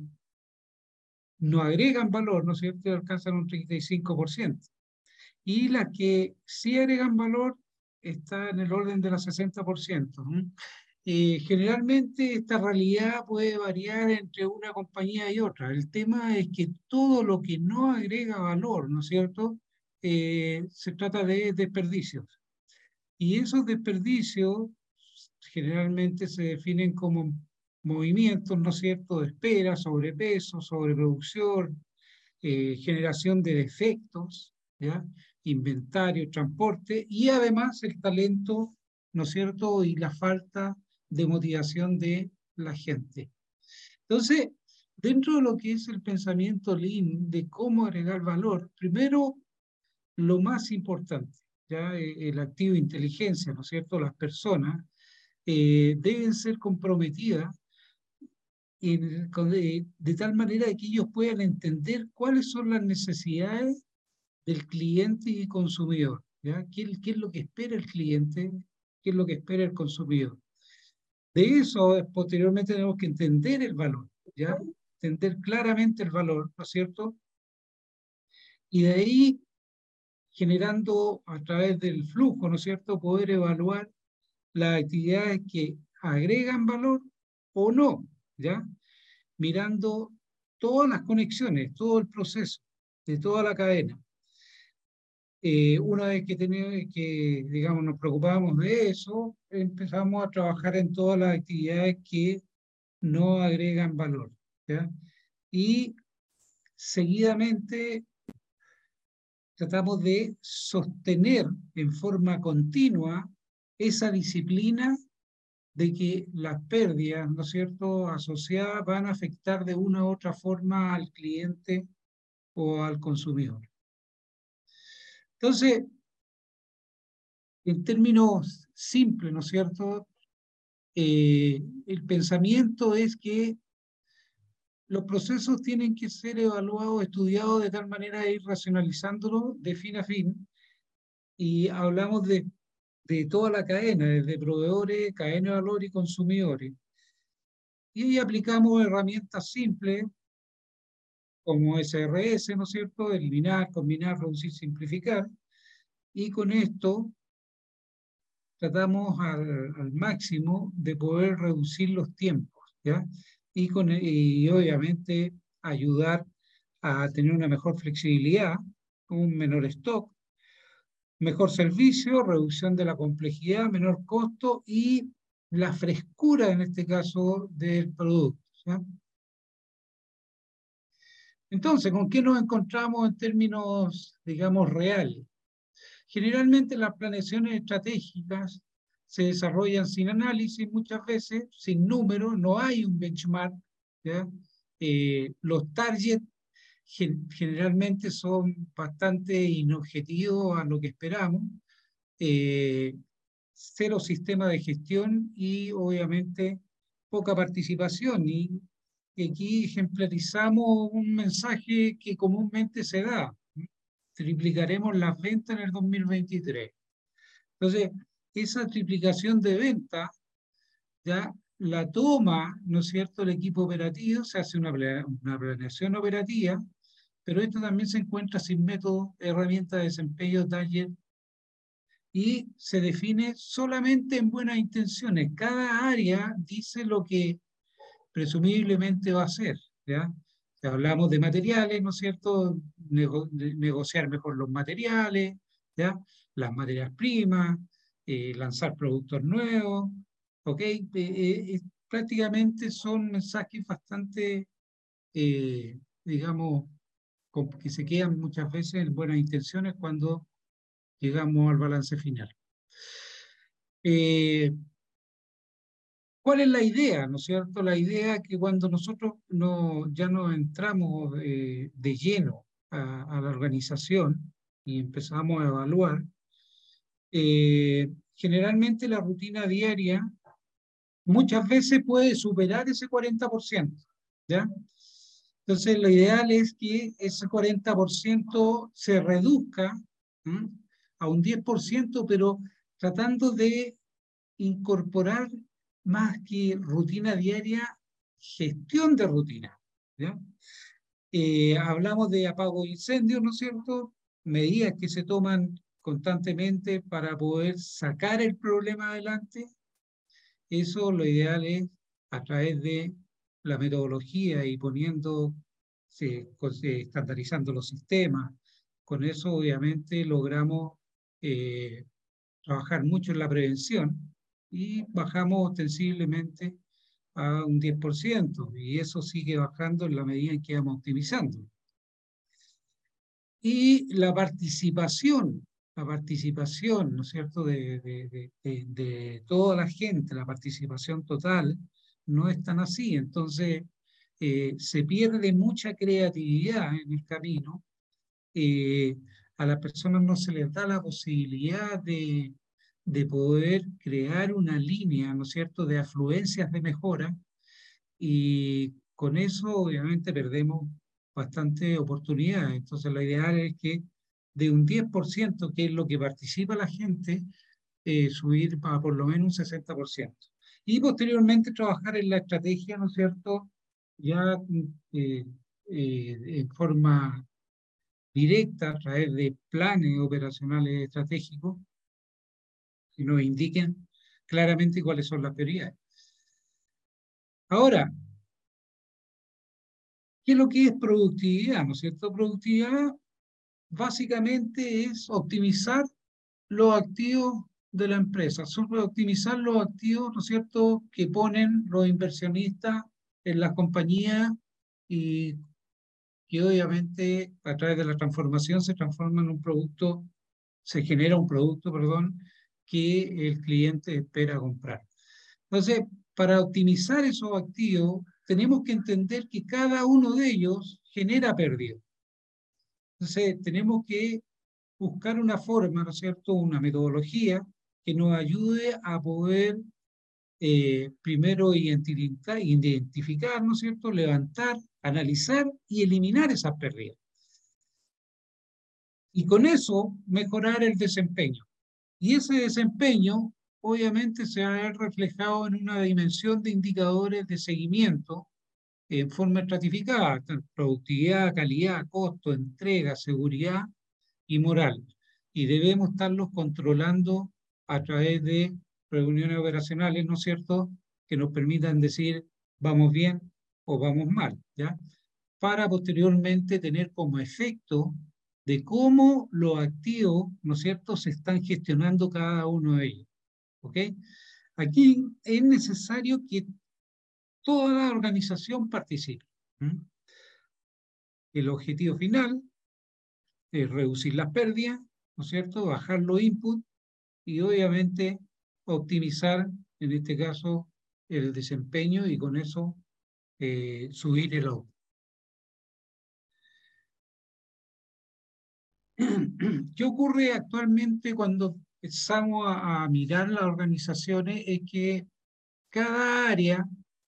no agregan valor, ¿no es cierto?, y alcanzan un treinta y cinco por ciento. Y las que sí agregan valor está en el orden del sesenta por ciento. ¿Mm? Eh, generalmente esta realidad puede variar entre una compañía y otra. El tema es que todo lo que no agrega valor, ¿no es cierto?, eh, se trata de desperdicios. Y esos desperdicios generalmente se definen como movimientos, ¿no es cierto?, de espera, sobrepeso, sobreproducción, eh, generación de defectos, ¿ya?, inventario, transporte, y además el talento, ¿no es cierto?, y la falta de motivación de la gente. Entonces, dentro de lo que es el pensamiento Lean, de cómo agregar valor, primero, lo más importante, ya el activo de inteligencia, ¿no es cierto?, las personas eh, deben ser comprometidas en, de, de tal manera que ellos puedan entender cuáles son las necesidades del cliente y consumidor, ¿ya? ¿Qué, qué es lo que espera el cliente? ¿Qué es lo que espera el consumidor? De eso, posteriormente tenemos que entender el valor, ¿ya? Entender claramente el valor, ¿no es cierto? Y de ahí, generando a través del flujo, ¿no es cierto?, poder evaluar las actividades que agregan valor o no, ¿ya? Mirando todas las conexiones, todo el proceso de toda la cadena. Eh, una vez que, tenemos, que, digamos, nos preocupamos de eso, empezamos a trabajar en todas las actividades que no agregan valor, ¿ya? Y seguidamente tratamos de sostener en forma continua esa disciplina de que las pérdidas, ¿no es cierto?, asociadas van a afectar de una u otra forma al cliente o al consumidor. Entonces, en términos simples, ¿no es cierto?, eh, el pensamiento es que los procesos tienen que ser evaluados, estudiados de tal manera de ir racionalizándolos de fin a fin, y hablamos de, de toda la cadena, desde proveedores, cadena de valor y consumidores. Y ahí aplicamos herramientas simples como S R S, ¿no es cierto?, eliminar, combinar, reducir, simplificar, y con esto tratamos al, al máximo de poder reducir los tiempos, ¿ya? Y, con, y obviamente ayudar a tener una mejor flexibilidad, un menor stock, mejor servicio, reducción de la complejidad, menor costo y la frescura, en este caso, del producto, ¿ya? Entonces, ¿con qué nos encontramos en términos, digamos, reales? Generalmente las planeaciones estratégicas se desarrollan sin análisis muchas veces, sin números, no hay un benchmark, ¿ya? Eh, los targets gen generalmente son bastante inobjetivos a lo que esperamos, eh, cero sistema de gestión y obviamente poca participación. Y aquí ejemplarizamos un mensaje que comúnmente se da: triplicaremos las ventas en el dos mil veintitrés. Entonces, esa triplicación de ventas ya la toma, ¿no es cierto?, el equipo operativo, se hace una, una planeación operativa, pero esto también se encuentra sin método, herramienta de desempeño, taller, y se define solamente en buenas intenciones. Cada área dice lo que presumiblemente va a hacer, ¿ya? Si hablamos de materiales, ¿no es cierto?, Nego de negociar mejor los materiales, ¿ya?, las materias primas, eh, lanzar productos nuevos, ¿ok? Eh, eh, prácticamente son mensajes bastante, eh, digamos, que se quedan muchas veces en buenas intenciones cuando llegamos al balance final. Eh, ¿Cuál es la idea, no es cierto? La idea es que cuando nosotros no, ya nos entramos eh, de lleno a, a la organización y empezamos a evaluar, eh, generalmente la rutina diaria muchas veces puede superar ese cuarenta por ciento, ¿ya? Entonces lo ideal es que ese cuarenta por ciento se reduzca, ¿m?, a un diez por ciento, pero tratando de incorporar más que rutina diaria, gestión de rutina, ¿ya? Eh, hablamos de apago de incendios, ¿no es cierto? Medidas que se toman constantemente para poder sacar el problema adelante. Eso lo ideal es a través de la metodología y poniendo, se, se, estandarizando los sistemas. Con eso obviamente logramos eh, trabajar mucho en la prevención y bajamos ostensiblemente a un diez por ciento, y eso sigue bajando en la medida en que vamos optimizando. Y la participación, la participación, ¿no es cierto?, de, de, de, de, de toda la gente, la participación total, no es tan así. Entonces, eh, se pierde mucha creatividad en el camino. Eh, a las personas no se les da la posibilidad de, de poder crear una línea, ¿no es cierto?, de afluencias de mejora, y con eso obviamente perdemos bastante oportunidades. Entonces lo ideal es que de un diez por ciento, que es lo que participa la gente, eh, subir para por lo menos un sesenta por ciento. Y posteriormente trabajar en la estrategia, ¿no es cierto?, ya eh, eh, en forma directa a través de planes operacionales estratégicos que nos indiquen claramente cuáles son las prioridades. Ahora, ¿qué es lo que es productividad? ¿No es cierto? Productividad básicamente es optimizar los activos de la empresa, sobre optimizar los activos, ¿no es cierto?, que ponen los inversionistas en las compañías y que obviamente a través de la transformación se transforma en un producto, se genera un producto, perdón, que el cliente espera comprar. Entonces, para optimizar esos activos, tenemos que entender que cada uno de ellos genera pérdida. Entonces, tenemos que buscar una forma, ¿no es cierto?, una metodología que nos ayude a poder eh, primero identificar, identificar, ¿no es cierto?, levantar, analizar y eliminar esas pérdidas. Y con eso mejorar el desempeño. Y ese desempeño obviamente se va a ver reflejado en una dimensión de indicadores de seguimiento en forma estratificada, productividad, calidad, costo, entrega, seguridad y moral. Y debemos estarlos controlando a través de reuniones operacionales, ¿no es cierto?, que nos permitan decir vamos bien o vamos mal, ¿ya? Para posteriormente tener como efecto de cómo los activos, ¿no es cierto?, se están gestionando cada uno de ellos, ¿ok? Aquí es necesario que toda la organización participe. ¿Mm? El objetivo final es reducir las pérdidas, ¿no es cierto?, bajar los inputs y obviamente optimizar, en este caso, el desempeño y con eso eh, subir el output. ¿Qué ocurre actualmente cuando empezamos a, a mirar las organizaciones? Es que cada área,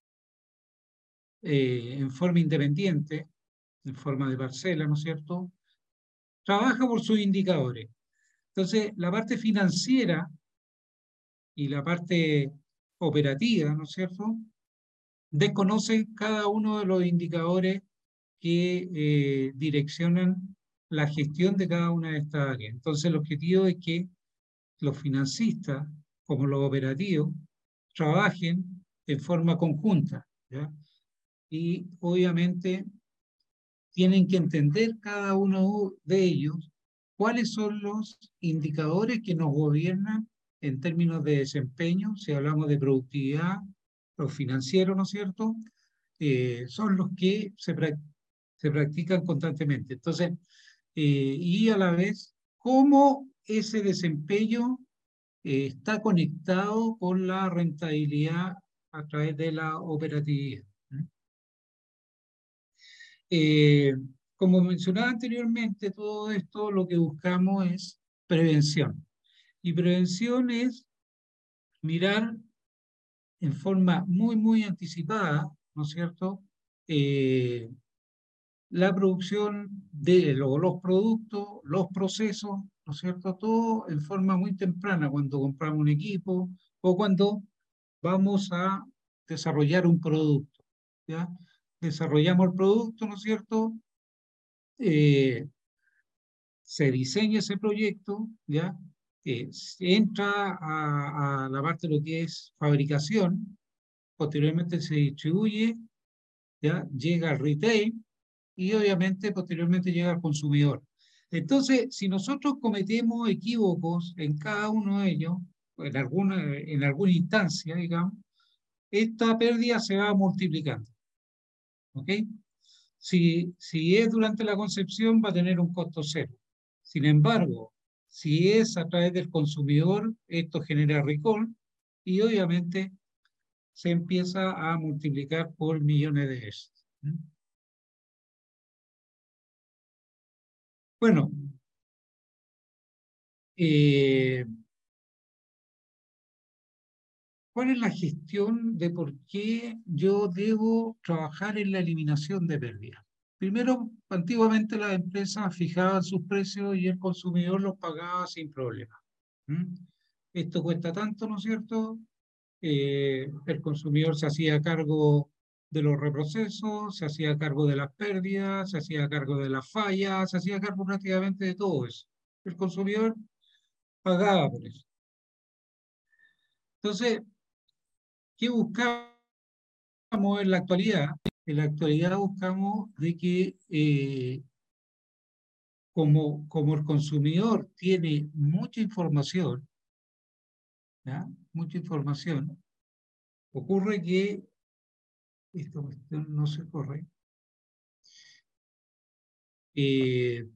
eh, en forma independiente, en forma de parcela, ¿no es cierto?, trabaja por sus indicadores. Entonces, la parte financiera y la parte operativa, ¿no es cierto?, desconocen cada uno de los indicadores que eh, direccionan la gestión de cada una de estas áreas. Entonces, el objetivo es que los financistas, como los operativos, trabajen en forma conjunta, ¿ya? Y obviamente tienen que entender cada uno de ellos cuáles son los indicadores que nos gobiernan en términos de desempeño, si hablamos de productividad, los financieros, ¿no es cierto?, eh, son los que se, pra se practican constantemente. Entonces, eh, y a la vez, cómo ese desempeño eh, está conectado con la rentabilidad a través de la operatividad. Eh, como mencionaba anteriormente, todo esto lo que buscamos es prevención. Y prevención es mirar en forma muy, muy anticipada, ¿no es cierto?, eh, la producción de lo, los productos, los procesos, ¿no es cierto?, todo en forma muy temprana, cuando compramos un equipo o cuando vamos a desarrollar un producto, ¿ya? Desarrollamos el producto, ¿no es cierto?, eh, se diseña ese proyecto, ¿ya? Eh, se entra a, a la parte de lo que es fabricación, posteriormente se distribuye, ¿ya? Llega al retail y obviamente posteriormente llega al consumidor. Entonces, si nosotros cometemos equívocos en cada uno de ellos, en alguna, en alguna instancia, digamos, esta pérdida se va multiplicando. ¿Ok? Si, si es durante la concepción, va a tener un costo cero. Sin embargo, si es a través del consumidor, esto genera recall y obviamente se empieza a multiplicar por millones de veces. Bueno, eh, ¿cuál es la gestión de por qué yo debo trabajar en la eliminación de pérdidas? Primero, antiguamente las empresas fijaban sus precios y el consumidor los pagaba sin problema. ¿Mm? Esto cuesta tanto, ¿no es cierto? Eh, el consumidor se hacía cargo de los reprocesos, se hacía cargo de las pérdidas, se hacía cargo de las fallas, se hacía cargo prácticamente de todo eso. El consumidor pagaba por eso. Entonces, ¿qué buscamos en la actualidad? En la actualidad buscamos de que eh, como, como el consumidor tiene mucha información, ¿ya? Mucha información, ocurre que esta cuestión no se corre. Eh,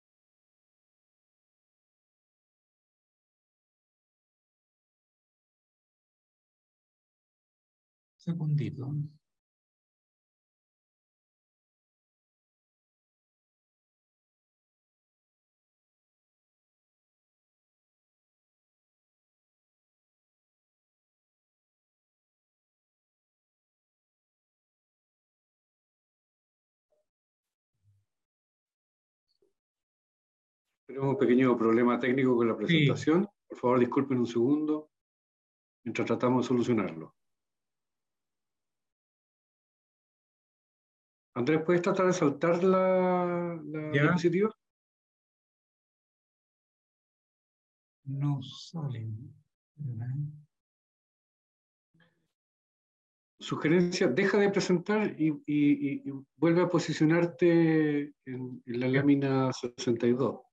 segundito. Tenemos un pequeño problema técnico con la Sí, presentación. Por favor, disculpen un segundo mientras tratamos de solucionarlo. Andrés, ¿puedes tratar de saltar la, la ya diapositiva? no salen. ¿Verdad? Sugerencia, deja de presentar y, y- y vuelve a posicionarte en, en la Ya. lámina sesenta y dos.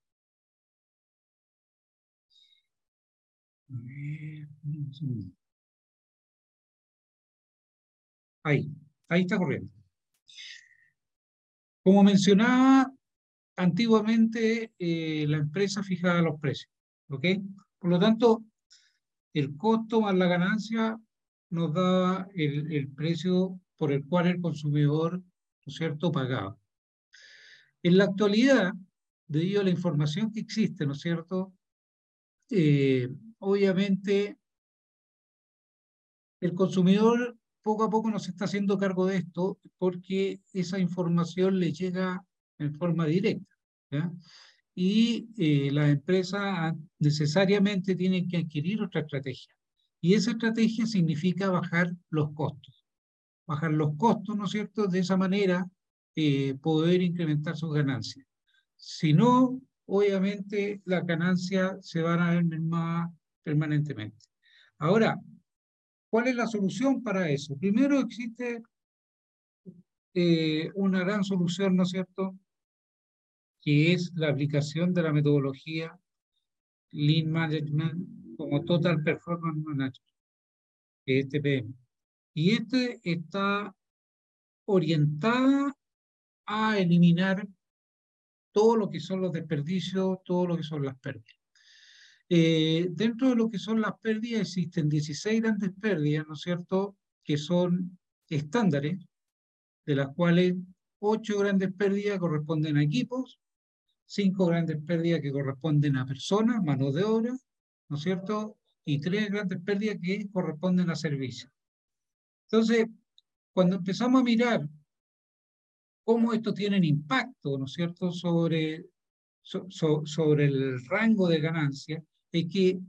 A ver, un segundo. Ahí, ahí está corriendo. Como mencionaba, antiguamente eh, la empresa fijaba los precios, ¿ok? Por lo tanto, el costo más la ganancia nos daba el, el precio por el cual el consumidor, ¿no es cierto?, pagaba. En la actualidad, debido a la información que existe, ¿no es cierto?, eh, obviamente el consumidor poco a poco nos está haciendo cargo de esto porque esa información le llega en forma directa, ¿ya? Y eh, las empresas necesariamente tienen que adquirir otra estrategia. Y esa estrategia significa bajar los costos. Bajar los costos, ¿no es cierto? De esa manera eh, poder incrementar sus ganancias. Si no, obviamente las ganancias se van a ver mermadas permanentemente. Ahora, ¿cuál es la solución para eso? Primero existe eh, una gran solución, ¿no es cierto?, que es la aplicación de la metodología Lean Management como Total Performance Management, que es T P M. Y este está orientada a eliminar todo lo que son los desperdicios, todo lo que son las pérdidas. Eh, dentro de lo que son las pérdidas existen dieciséis grandes pérdidas, ¿no es cierto?, que son estándares, de las cuales ocho grandes pérdidas corresponden a equipos, cinco grandes pérdidas que corresponden a personas, mano de obra, ¿no es cierto?, y tres grandes pérdidas que corresponden a servicios. Entonces, cuando empezamos a mirar cómo esto tiene impacto, ¿no es cierto?, sobre, so, so, sobre el rango de ganancia, es que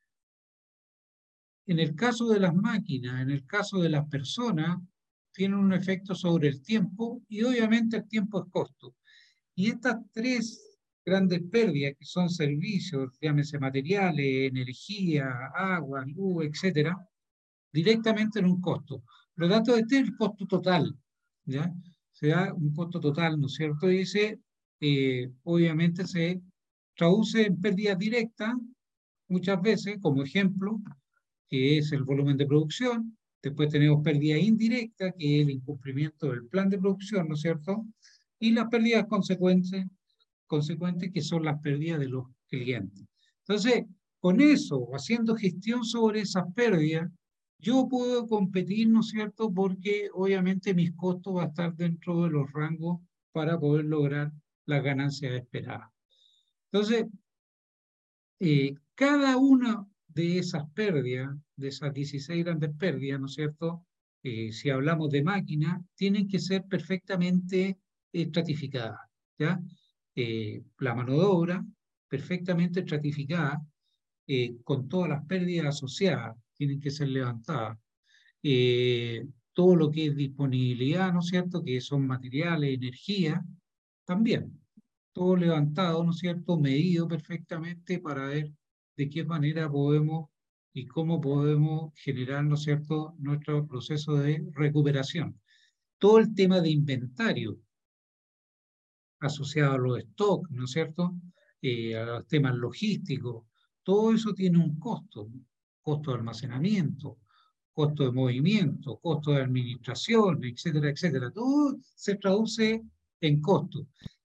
en el caso de las máquinas, en el caso de las personas, tienen un efecto sobre el tiempo y obviamente el tiempo es costo. Y estas tres grandes pérdidas, que son servicios, llámese materiales, energía, agua, luz, etcétera, directamente en un costo. Por lo tanto, este es el costo total, ¿ya? Se da un costo total, ¿no es cierto? Y ese, eh, obviamente, se traduce en pérdidas directas, muchas veces, como ejemplo, que es el volumen de producción. Después tenemos pérdida indirecta, que es el incumplimiento del plan de producción, ¿no es cierto? Y las pérdidas consecuentes, consecuentes que son las pérdidas de los clientes. Entonces, con eso, haciendo gestión sobre esas pérdidas, yo puedo competir, ¿no es cierto? Porque obviamente mis costos van a estar dentro de los rangos para poder lograr las ganancias esperadas. Entonces, eh, cada una de esas pérdidas, de esas dieciséis grandes pérdidas, ¿no es cierto?, Eh, si hablamos de máquinas, tienen que ser perfectamente estratificadas, ¿ya? Eh, la mano de obra, perfectamente estratificada, eh, con todas las pérdidas asociadas, tienen que ser levantadas. Eh, todo lo que es disponibilidad, ¿no es cierto?, que son materiales, energía, también. Todo levantado, ¿no es cierto?, medido perfectamente para ver de qué manera podemos y cómo podemos generar, ¿no es cierto?, nuestro proceso de recuperación. Todo el tema de inventario asociado a los stocks, ¿no es cierto?, eh, a los temas logísticos, todo eso tiene un costo, costo de almacenamiento, costo de movimiento, costo de administración, etcétera, etcétera. Todo se traduce en costo.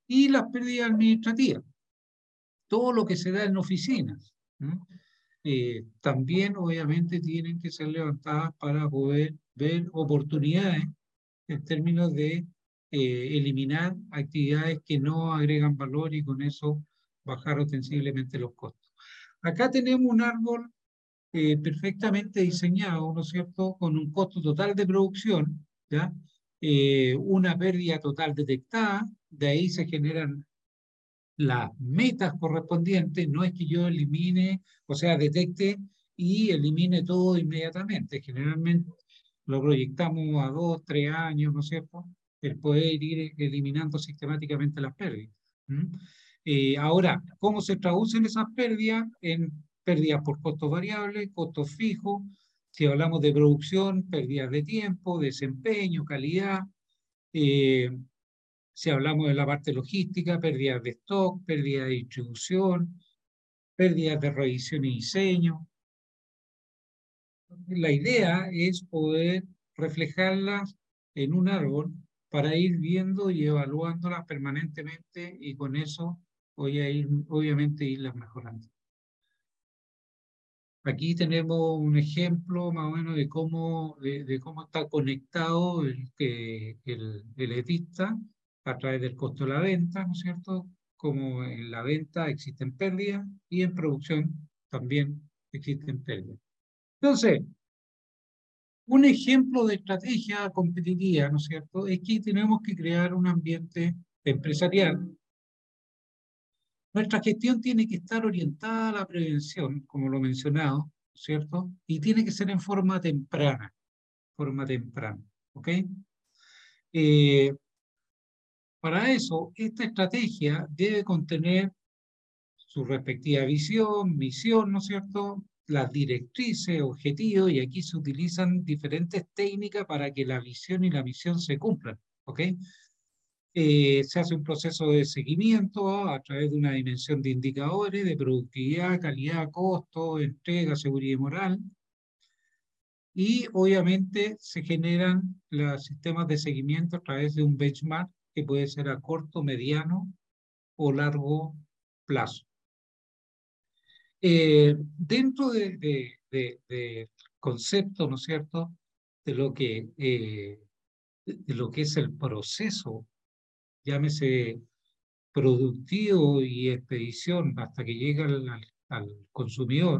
y las pérdidas administrativas, todo lo que se da en oficinas, ¿no? Eh, también obviamente tienen que ser levantadas para poder ver oportunidades en términos de eh, eliminar actividades que no agregan valor y con eso bajar ostensiblemente los costos. Acá tenemos un árbol eh, perfectamente diseñado, ¿no es cierto?, con un costo total de producción, ¿ya? Eh, una pérdida total detectada, de ahí se generan las metas correspondientes, no es que yo elimine, o sea, detecte y elimine todo inmediatamente. Generalmente lo proyectamos a dos, tres años, ¿no es cierto?, el poder ir eliminando sistemáticamente las pérdidas. ¿Mm? Eh, ahora, ¿cómo se traducen esas pérdidas? En pérdidas por costos variables, costos fijos, si hablamos de producción, pérdidas de tiempo, desempeño, calidad, eh, si hablamos de la parte logística, pérdidas de stock, pérdidas de distribución, pérdidas de revisión y diseño. La idea es poder reflejarlas en un árbol para ir viendo y evaluándolas permanentemente y con eso voy a ir, obviamente, irlas mejorando. Aquí tenemos un ejemplo más o menos de cómo, de, de cómo está conectado el, el, el edista a través del costo de la venta, ¿no es cierto? Como en la venta existen pérdidas y en producción también existen pérdidas. Entonces, un ejemplo de estrategia competitiva, ¿no es cierto?, es que tenemos que crear un ambiente empresarial. Nuestra gestión tiene que estar orientada a la prevención, como lo he mencionado, ¿cierto? Y tiene que ser en forma temprana, forma temprana, ¿ok? Eh, para eso, esta estrategia debe contener su respectiva visión, misión, ¿no es cierto?, las directrices, objetivos, y aquí se utilizan diferentes técnicas para que la visión y la misión se cumplan, ¿ok? Eh, se hace un proceso de seguimiento a través de una dimensión de indicadores de productividad, calidad, costo, entrega, seguridad y moral. Y obviamente se generan los sistemas de seguimiento a través de un benchmark que puede ser a corto, mediano o largo plazo. Eh, dentro de, de, de, de concepto, ¿no es cierto?, de lo que, eh, de lo que es el proceso, llámese productivo y expedición hasta que llega al, al, al consumidor,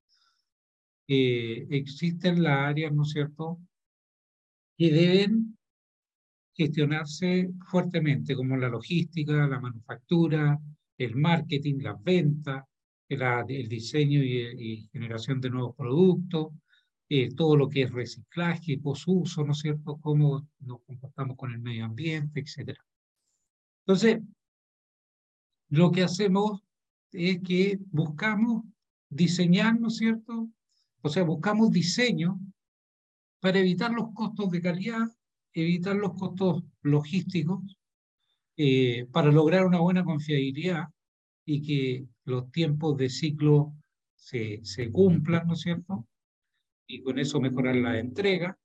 eh, existen las áreas, ¿no es cierto?, que deben gestionarse fuertemente, como la logística, la manufactura, el marketing, las ventas, el, el diseño y, y generación de nuevos productos, eh, todo lo que es reciclaje, posuso, ¿no es cierto?, cómo nos comportamos con el medio ambiente, etcétera. Entonces, lo que hacemos es que buscamos diseñar, ¿no es cierto?, o sea, buscamos diseño para evitar los costos de calidad, evitar los costos logísticos, eh, para lograr una buena confiabilidad y que los tiempos de ciclo se, se cumplan, ¿no es cierto?, y con eso mejorar la entrega,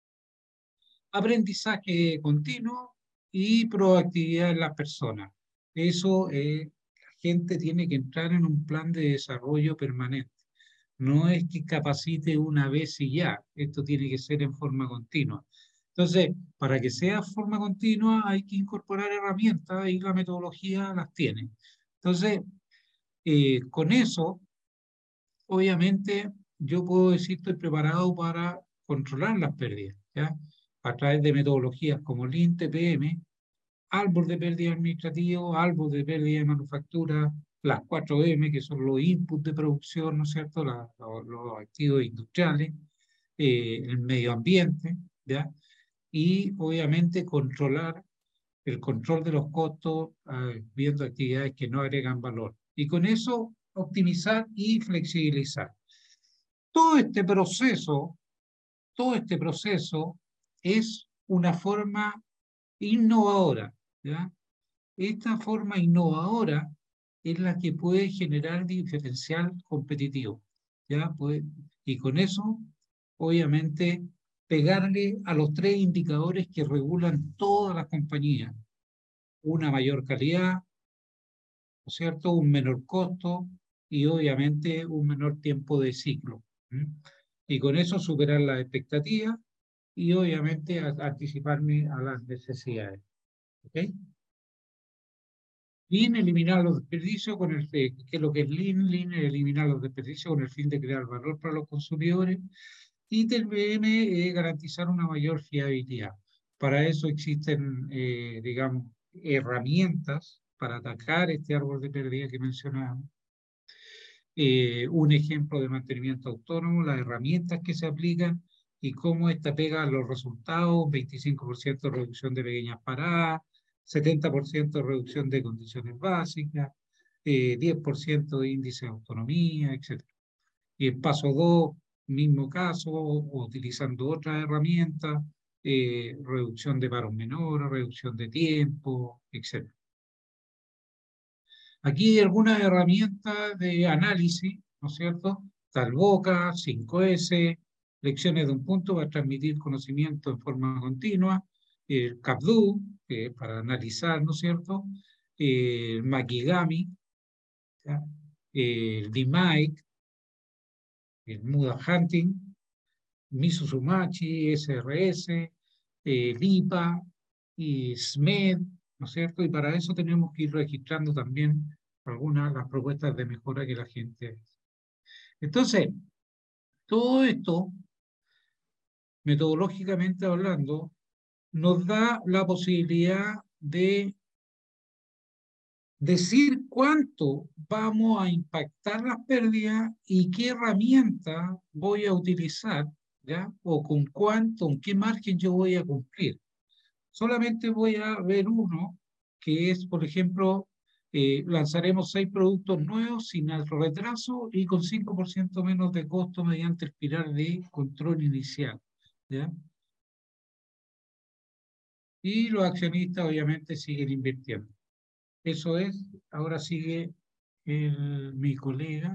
aprendizaje continuo y proactividad en las personas. Eso, eh, la gente tiene que entrar en un plan de desarrollo permanente. No es que capacite una vez y ya, esto tiene que ser en forma continua. Entonces, para que sea forma continua hay que incorporar herramientas y la metodología las tiene. Entonces, eh, con eso, obviamente, yo puedo decir estoy preparado para controlar las pérdidas, ¿ya?, a través de metodologías como Lean T P M, árbol de pérdida administrativo, árbol de pérdida de manufactura, las cuatro M, que son los inputs de producción, ¿no es cierto?, la, los, los activos industriales, eh, el medio ambiente, ¿ya?, y obviamente controlar el control de los costos, eh, viendo actividades que no agregan valor. Y con eso optimizar y flexibilizar. Todo este proceso, todo este proceso es una forma innovadora, ¿ya? Esta forma innovadora es la que puede generar diferencial competitivo, ¿ya? Pues, y con eso, obviamente, pegarle a los tres indicadores que regulan todas las compañías, una mayor calidad, ¿no es cierto?, un menor costo y obviamente un menor tiempo de ciclo. ¿Mm? Y con eso superar las expectativas y obviamente a, anticiparme a las necesidades. ¿Ok? Lean, eliminar los desperdicios con el, ¿qué es lo que es Lean? Lean es eliminar los desperdicios con el fin de crear valor para los consumidores. Y T V M es garantizar una mayor fiabilidad. Para eso existen, eh, digamos, herramientas para atacar este árbol de pérdida que mencionábamos. Eh, un ejemplo de mantenimiento autónomo, las herramientas que se aplican y cómo esta pega los resultados, veinticinco por ciento de reducción de pequeñas paradas, setenta por ciento de reducción de condiciones básicas, eh, diez por ciento de índice de autonomía, etcétera. Y el paso dos, mismo caso, utilizando otras herramientas, eh, reducción de paros menores, reducción de tiempo, etcétera. Aquí hay algunas herramientas de análisis, ¿no es cierto? Talboca, cinco ese, lecciones de un punto para transmitir conocimiento en forma continua, el CapDo, eh, para analizar, ¿no es cierto? Eh, el Makigami, ¿ya? El D M I C, el Muda Hunting, Misuzumachi, S R S, eh, LIPA y S M E D, ¿no es cierto? Y para eso tenemos que ir registrando también algunas de las propuestas de mejora que la gente hace. Entonces, todo esto, metodológicamente hablando, nos da la posibilidad de decir cuánto vamos a impactar las pérdidas y qué herramienta voy a utilizar, ¿ya? O con cuánto, con qué margen yo voy a cumplir. Solamente voy a ver uno, que es, por ejemplo, eh, lanzaremos seis productos nuevos sin alto retraso y con cinco por ciento menos de costo mediante el pilar de control inicial, ¿ya? Y los accionistas obviamente siguen invirtiendo. Eso es, ahora sigue el, mi colega.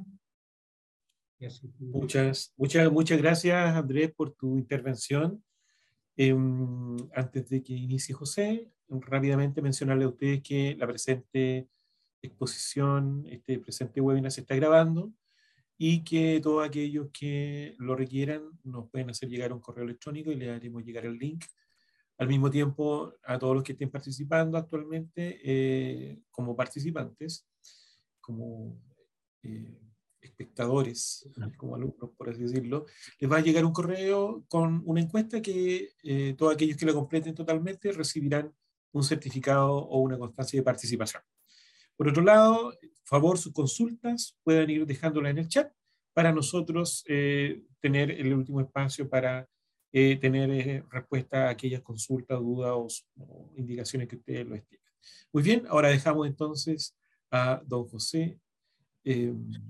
Muchas, muchas, muchas gracias, Andrés, por tu intervención. Eh, antes de que inicie José, rápidamente mencionarle a ustedes que la presente exposición, este presente webinar se está grabando y que todos aquellos que lo requieran nos pueden hacer llegar un correo electrónico y le haremos llegar el link. Al mismo tiempo, a todos los que estén participando actualmente eh, como participantes, como eh, espectadores, como alumnos, por así decirlo, les va a llegar un correo con una encuesta que eh, todos aquellos que la completen totalmente recibirán un certificado o una constancia de participación. Por otro lado, por favor, sus consultas pueden ir dejándolas en el chat para nosotros eh, tener el último espacio para eh, tener eh, respuesta a aquellas consultas, dudas o, o indicaciones que ustedes lo estimen. Muy bien, ahora dejamos entonces a don José eh,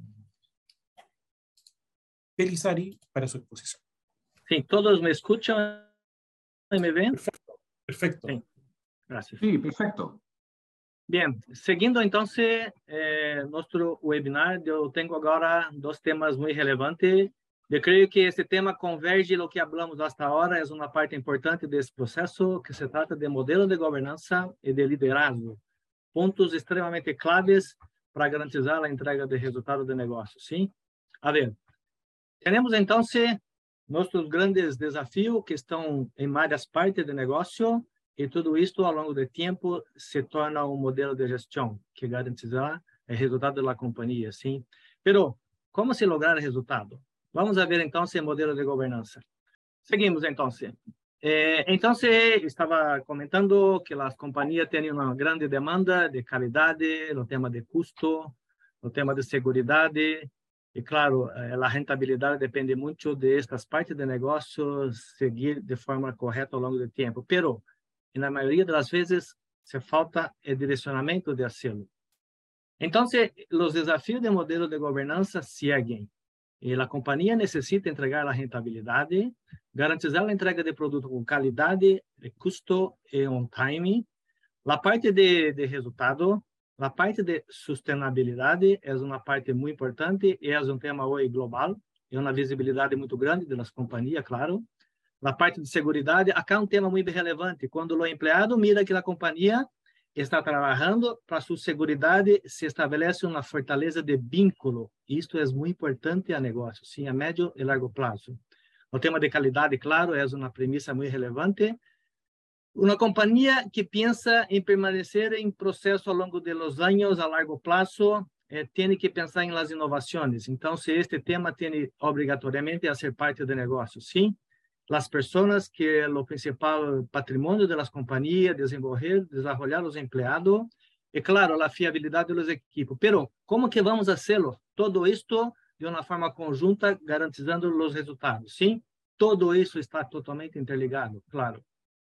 Pelissari para su exposición. Sí, ¿todos me escuchan y me ven? Perfecto, perfecto. Sí, gracias. Sí, perfecto. Bien, seguindo entonces eh, nuestro webinar, yo tengo ahora dos temas muy relevantes. Yo creo que este tema converge lo que hablamos hasta ahora, es una parte importante de este proceso que se trata de modelo de gobernanza y de liderazgo, puntos extremadamente claves para garantizar la entrega de resultados de negocio, ¿sí? A ver, tenemos entonces nuestros grandes desafíos que están en varias partes del negocio. E tudo isto, ao longo do tempo, se torna um modelo de gestão que garantizará o resultado da companhia, sim? Pero, como se lograr o resultado? Vamos ver, então, o modelo de governança. Seguimos, então. Eh, então, estava comentando que as companhias têm uma grande demanda de qualidade, no tema de custo, no tema de segurança, e, claro, a rentabilidade depende muito de estas partes de negócio seguir de forma correta ao longo do tempo. Pero, e na maioria das vezes se falta o direcionamento de hacerlo. Então, os desafios de modelo de governança seguem. E a companhia necessita entregar a rentabilidade, garantizar a entrega de produto com qualidade, custo e on time. A parte de, de resultado, a parte de sustentabilidade é uma parte muito importante e é um tema hoje global, e uma visibilidade muito grande das companhias, claro. Na parte de segurança, acá é um tema muito relevante. Quando o empregado mira que a companhia está trabalhando para sua segurança, se estabelece uma fortaleza de vínculo. Isto é muito importante a negócio, sim, a médio e largo prazo. O tema de qualidade, claro, é uma premissa muito relevante. Uma companhia que pensa em permanecer em processo ao longo dos anos, a largo prazo, eh, tem que pensar em las inovações. Então, se este tema tem obrigatoriamente a ser parte do negócio, sim. Las pessoas que é o principal patrimônio das companhias, desenvolver, desenvolver os empregados, e claro, a fiabilidade dos equipos. Pero, como que vamos fazê-lo? Todo isto de uma forma conjunta, garantizando os resultados, sim? Todo isso está totalmente interligado, claro.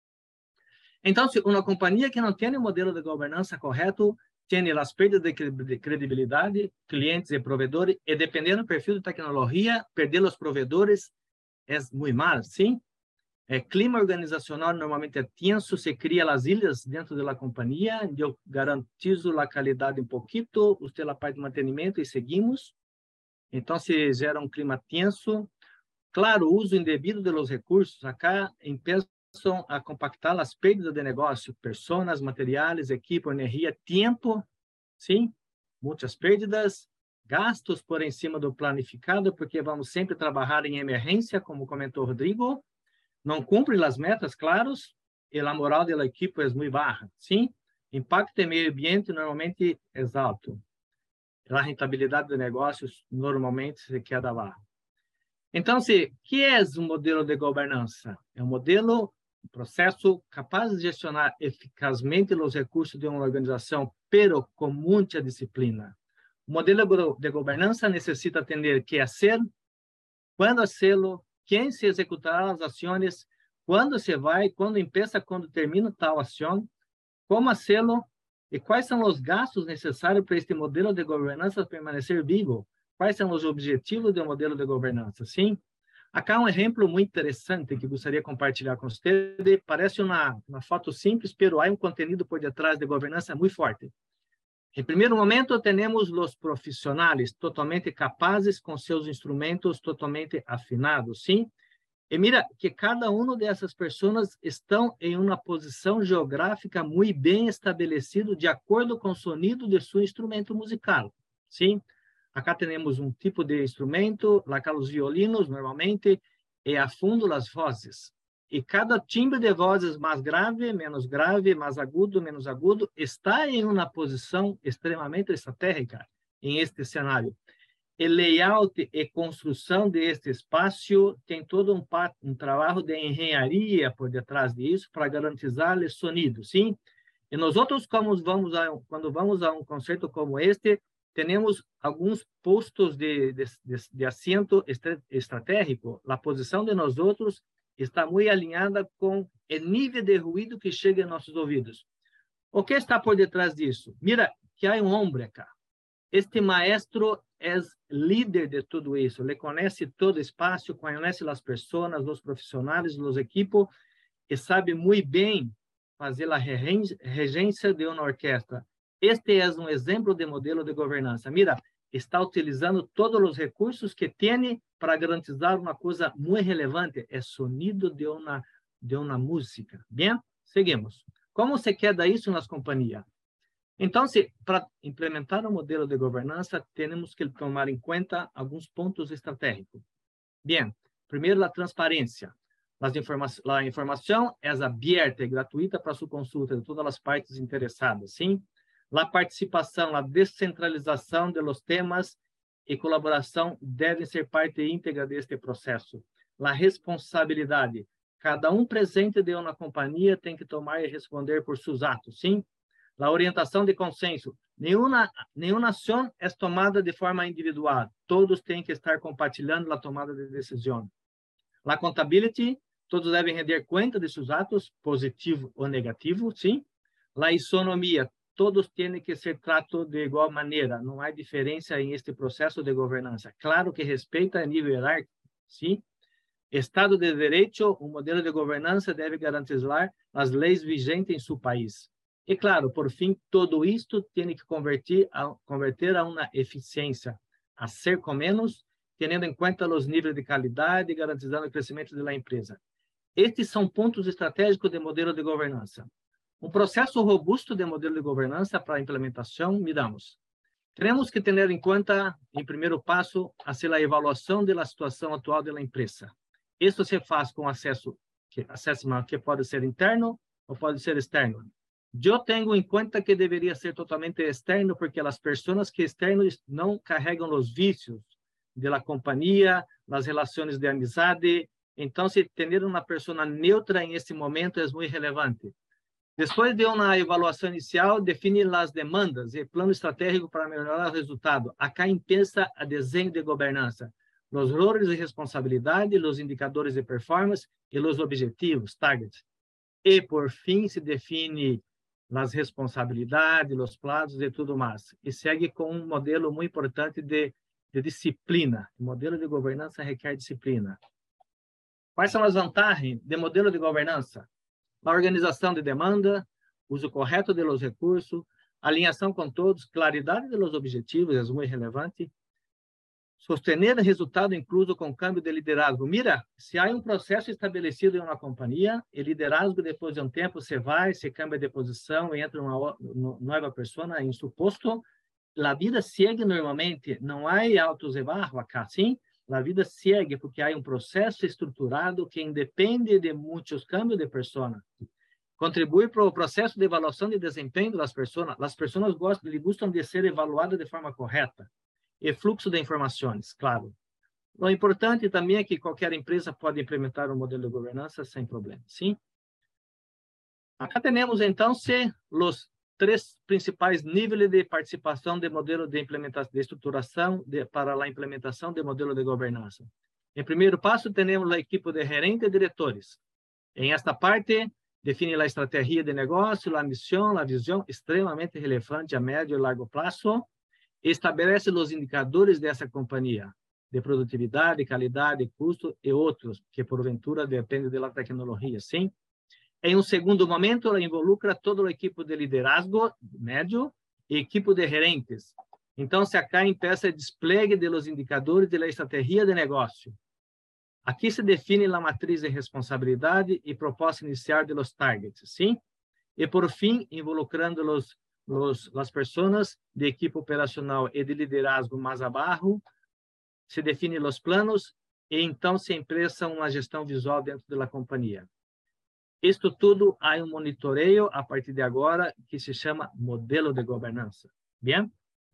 Então, se uma companhia que não tem um modelo de governança correto, tem as perdas de credibilidade, clientes e provedores, e dependendo do perfil de tecnologia, perder os provedores é muito mal, sim? É, clima organizacional normalmente é tenso, se cria as ilhas dentro da companhia, eu garantizo a qualidade um pouquinho, você a parte de mantenimento e seguimos. Então, se gera um clima tenso. Claro, o uso indevido dos recursos, acá empiezam a compactar as perdas de negócio, pessoas, materiais, equipo, energia, tempo, sim? Muitas perdas. Gastos por em cima do planificado, porque vamos sempre trabalhar em emergência, como comentou o Rodrigo. Não cumpre as metas, claros, e a moral da equipe é muito baixa, sim? Impacto em meio ambiente normalmente é alto. A rentabilidade de negócios normalmente se queda baixa. Então, se que é um modelo de governança? É um modelo, um processo capaz de gestionar eficazmente os recursos de uma organização, pero com muita disciplina. O modelo de governança necessita entender que fazer, quando fazê-lo, quem se executará as ações, quando se vai, quando empieza, quando termina tal ação, como fazê-lo e quais são os gastos necessários para este modelo de governança permanecer vivo. Quais são os objetivos do modelo de governança, sim? Acá um exemplo muito interessante que gostaria de compartilhar com vocês. Parece uma, uma foto simples, mas há um conteúdo por detrás de governança muito forte. Em primeiro momento, temos os profissionais totalmente capazes com seus instrumentos totalmente afinados, sim? E mira que cada uma dessas pessoas estão em uma posição geográfica muito bem estabelecida de acordo com o sonido de seu instrumento musical, sim? Acá temos um tipo de instrumento, lá os violinos, normalmente, e a fundo as vozes. E cada timbre de vozes mais grave, menos grave, mais agudo, menos agudo, está em uma posição extremamente estratégica em este cenário. O layout e construção deste espaço tem todo um, um trabalho de engenharia por detrás disso para garantizar o sonido, sim? E nós outros, como vamos a, quando vamos a um concerto como este, temos alguns postos de, de, de, de assento estratégico. A posição de nós outros está muito alinhada com o nível de ruído que chega em nossos ouvidos. O que está por detrás disso? Mira, que há um homem acá. Este maestro é líder de tudo isso. Ele conhece todo o espaço, conhece as pessoas, os profissionais, os equipos, e sabe muito bem fazer a regência de uma orquestra. Este é um exemplo de modelo de governança. Mira, está utilizando todos os recursos que tem para garantizar uma coisa muito relevante, é sonido de uma, de uma música. Bem, seguimos. Como se queda isso nas companhias? Então, se, para implementar um modelo de governança, temos que tomar em conta alguns pontos estratégicos. Bem, primeiro, a transparência. Informa a informação é aberta e gratuita para sua consulta de todas as partes interessadas, sim? A participação, a descentralização dos temas e colaboração devem ser parte íntegra deste processo. A responsabilidade. Cada um presente de uma companhia tem que tomar e responder por seus atos, sim? A orientação de consenso. Nenhuma, nenhuma ação é tomada de forma individual. Todos têm que estar compartilhando a tomada de decisão. A contabilidade. Todos devem render conta de seus atos, positivo ou negativo, sim? A isonomia. Todos têm que ser tratados de igual maneira. Não há diferença em este processo de governança. Claro que respeita a nível hierárquico, sim? Estado de Direito. O modelo de governança deve garantizar as leis vigentes em seu país. E, claro, por fim, tudo isto tem que converter a, converter a uma eficiência, a ser com menos, tendo em conta os níveis de qualidade e garantizando o crescimento da empresa. Estes são pontos estratégicos do modelo de governança. Um processo robusto de modelo de governança para a implementação, miramos. Temos que ter em conta, em primeiro passo, hacer a avaliação da situação atual da empresa. Isso se faz com acesso que, assessment que pode ser interno ou pode ser externo. Eu tenho em conta que deveria ser totalmente externo, porque as pessoas que externos não carregam os vícios da companhia, as relações de amizade. Então, se ter uma pessoa neutra em esse momento é muito relevante. Depois de uma avaliação inicial, define as demandas e plano estratégico para melhorar o resultado. Acá empieza a desenho de governança, os roles de responsabilidade, os indicadores de performance e os objetivos, targets. E, por fim, se define as responsabilidades, os prazos e tudo mais. E segue com um modelo muito importante de, de disciplina. O modelo de governança requer disciplina. Quais são as vantagens do modelo de governança? A organização de demanda, uso correto dos recursos, alinhação com todos, claridade dos objetivos, é muito relevante. Sostener o resultado incluso com câmbio de liderazgo. Mira, se há um processo estabelecido em uma companhia, e liderazgo, depois de um tempo, você vai, se cambia de posição, entra uma nova pessoa em seu posto, a vida segue normalmente, não há altos e baixos acá, sim? A vida segue porque há um processo estruturado que independe de muitos cambios de pessoa. Contribui para o processo de avaliação de desempenho das pessoas. As pessoas gostam, gostam de ser evaluadas de forma correta. E fluxo de informações, claro. O importante também é que qualquer empresa pode implementar um modelo de governança sem problema, sim? Acá temos, então, se os três principais níveis de participação de modelo de implementação, de estruturação de, para a implementação de modelo de governança. Em primeiro passo, temos a equipe de gerentes e diretores. Em esta parte, define a estratégia de negócio, a missão, a visão, extremamente relevante a médio e largo prazo. Estabelece os indicadores dessa companhia, de produtividade, qualidade, custo e outros, que porventura dependem da tecnologia, sim? Em um segundo momento, ela involucra toda a equipe de liderazgo médio e equipe de gerentes. Então, se acá empieza o despliegue dos indicadores da estratégia de negócio. Aqui se define a matriz de responsabilidade e proposta inicial dos targets, sim? E, por fim, involucrando os Los, as pessoas de equipe operacional e de liderazgo mais abaixo, se definem os planos e então se empresa uma gestão visual dentro da companhia. Isto tudo há um monitoreio a partir de agora que se chama modelo de governança. Bem?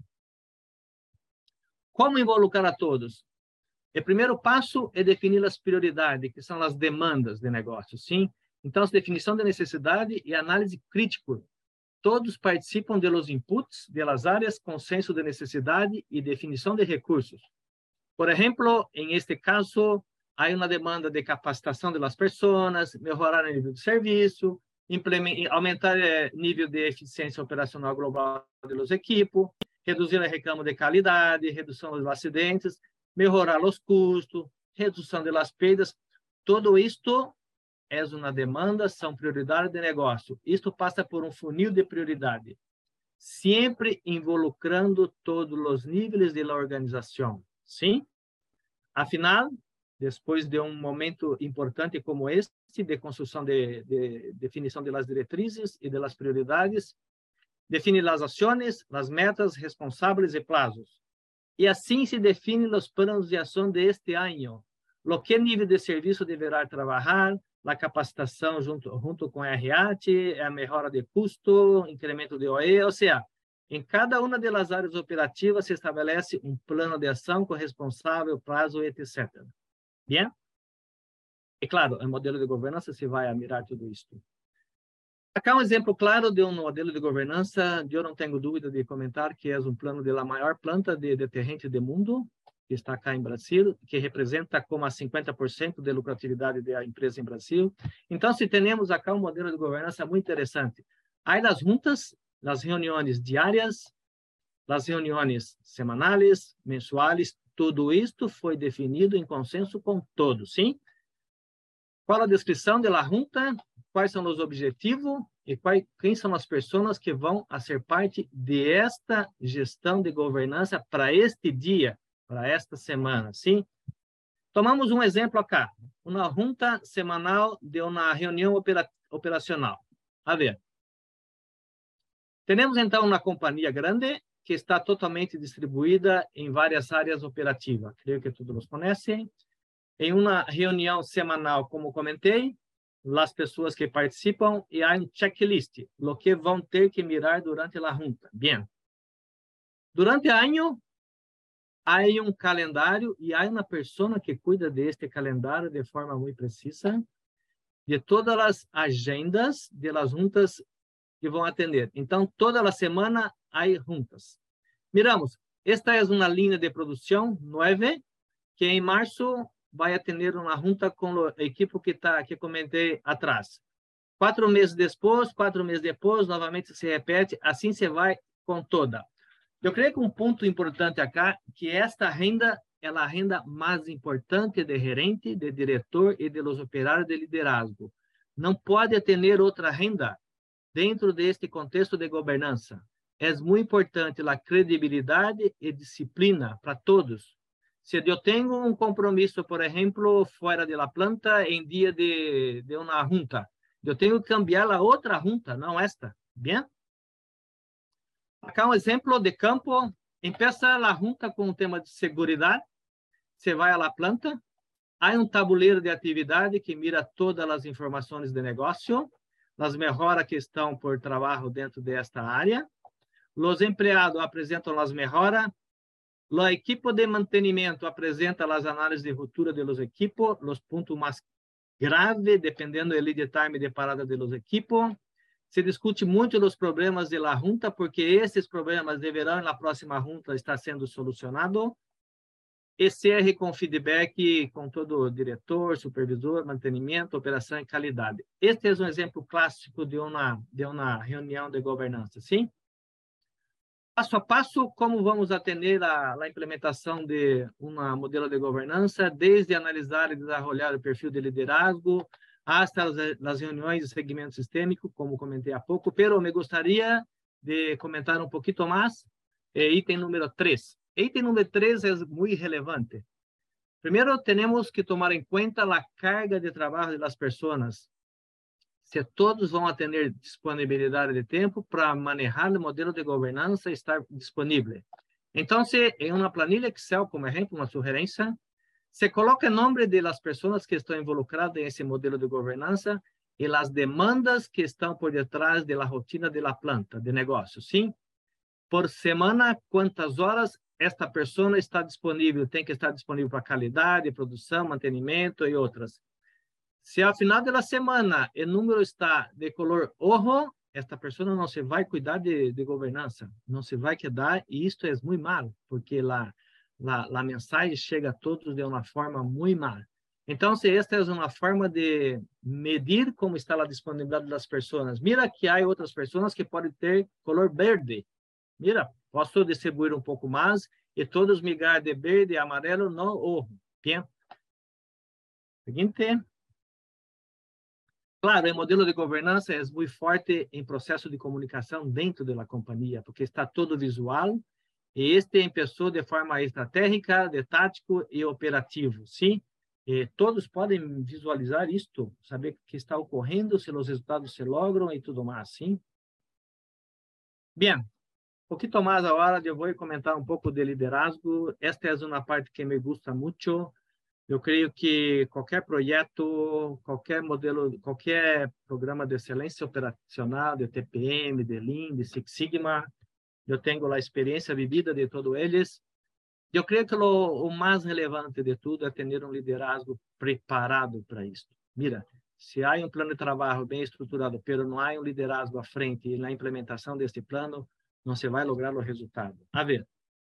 Como involucrar a todos? O primeiro passo é definir as prioridades, que são as demandas de negócio, sim? Então, a definição de necessidade e análise crítica. Todos participam de los inputs de las áreas, consenso de necessidade e definição de recursos. Por exemplo, em este caso, há uma demanda de capacitação das pessoas, melhorar o nível de serviço, aumentar o nível de eficiência operacional global dos equipos, reduzir o reclamo de qualidade, redução dos acidentes, melhorar os custos, redução das perdas. Todo isto é uma demanda, são prioridades de negócio. Isto passa por um funil de prioridade, sempre involucrando todos os níveis da organização. Sim? Afinal, depois de um momento importante como este, de construção de, de definição das diretrizes e das prioridades, define as ações, as metas, responsáveis e prazos. E assim se definem os planos de ação de este ano. Lo que nível de serviço deverá trabalhar, a capacitação junto, junto com a R A T, a melhora de custo, incremento de O E, ou seja, em cada uma das áreas operativas se estabelece um plano de ação com responsável, prazo, etcétera. Bem? E claro, o modelo de governança se vai a mirar tudo isso. Acá um exemplo claro de um modelo de governança, eu não tenho dúvida de comentar que é um plano da maior planta de detergente do mundo, que está cá em Brasil, que representa como a cinquenta por cento de lucratividade da empresa em Brasil. Então, se temos acá um modelo de governança muito interessante. Há as juntas, as reuniões diárias, as reuniões semanais, mensuais, tudo isto foi definido em consenso com todos, sim? Qual a descrição da junta, quais são os objetivos e quais, quem são as pessoas que vão a ser parte desta gestão de governança para este dia, para esta semana, sim? Tomamos um exemplo acá, uma junta semanal de uma reunião opera, operacional. A ver, Temos, então, uma companhia grande que está totalmente distribuída em várias áreas operativas. Creio que todos os conhecem. Em uma reunião semanal, como comentei, as pessoas que participam e há um checklist, o que vão ter que mirar durante a junta. Bem. Durante o ano, há um calendário e há uma pessoa que cuida deste calendário de forma muito precisa, de todas as agendas de las juntas que vão atender. Então, toda a semana há juntas. Miramos, esta é uma linha de produção nove, que em março vai atender uma junta com a equipe que tá, que comentei atrás. Quatro meses depois, quatro meses depois, novamente se repete, assim se vai com toda. Eu creio que um ponto importante acá, que esta renda é a renda mais importante de gerente, de diretor e de los operários de liderazgo. Não pode ter outra renda dentro deste contexto de governança. É muito importante a credibilidade e disciplina para todos. Se eu tenho um compromisso, por exemplo, fora da planta, em dia de, de uma junta, eu tenho que cambiar a outra junta, não esta. Bem? Acá um exemplo de campo. Empieza a junta com o tema de segurança. Você vai à planta. Há um tabuleiro de atividade que mira todas as informações de negócio, as melhoras que estão por trabalho dentro desta área. Os empregados apresentam as melhoras. A equipe de mantenimento apresenta as análises de ruptura de los equipos, os pontos mais graves, dependendo do lead time de parada de los equipos. Se discute muito os problemas de la junta, porque esses problemas deverão, na próxima junta, estar sendo solucionados. E C R com feedback com todo o diretor, supervisor, mantenimento, operação e qualidade. Este é um exemplo clássico de uma, de uma reunião de governança, sim? Passo a passo, como vamos atender a, a implementação de um modelo de governança, desde analisar e desenvolver o perfil de liderazgo, hasta as, as reuniões de segmento sistêmico, como comentei há pouco, pero me gostaria de comentar um pouquinho mais, eh, item número três. Item número três é muito relevante. Primeiro, temos que tomar em conta a carga de trabalho das pessoas. Se todos vão ter disponibilidade de tempo para manejar o modelo de governança e estar disponível. Então, se em uma planilha Excel, como exemplo, uma sugerência, se coloca o nome das pessoas que estão involucradas nesse modelo de governança e as demandas que estão por detrás da rotina da planta de negócio, sim? Por semana, quantas horas esta pessoa está disponível? Tem que estar disponível para qualidade, produção, mantenimento e outras. Se ao final da semana o número está de color rojo, esta pessoa não se vai cuidar de, de governança, não se vai quedar, e isto é muito mal, porque a, a, a mensagem chega a todos de uma forma muito mal. Então, se esta é uma forma de medir como está a disponibilidade das pessoas, mira que há outras pessoas que podem ter color verde. Mira, posso distribuir um pouco mais e todos migrar de verde e amarelo no rojo. Bem? Seguinte. Claro, o modelo de governança é muito forte em processo de comunicação dentro da companhia, porque está todo visual, e este começou de forma estratégica, de tático e operativo, sim? E todos podem visualizar isto, saber o que está ocorrendo, se os resultados se logram e tudo mais, sim? Bem, um pouquinho mais agora, eu vou comentar um pouco de liderazgo. Esta é uma parte que me gusta muito. Eu creio que qualquer projeto, qualquer modelo, qualquer programa de excelência operacional, de T P M, de Lean, de Six Sigma, eu tenho a experiência vivida de todos eles. Eu creio que o, o mais relevante de tudo é ter um liderazgo preparado para isso. Mira, se há um plano de trabalho bem estruturado, mas não há um liderazgo à frente e na implementação deste plano, não se vai lograr o resultado. A ver.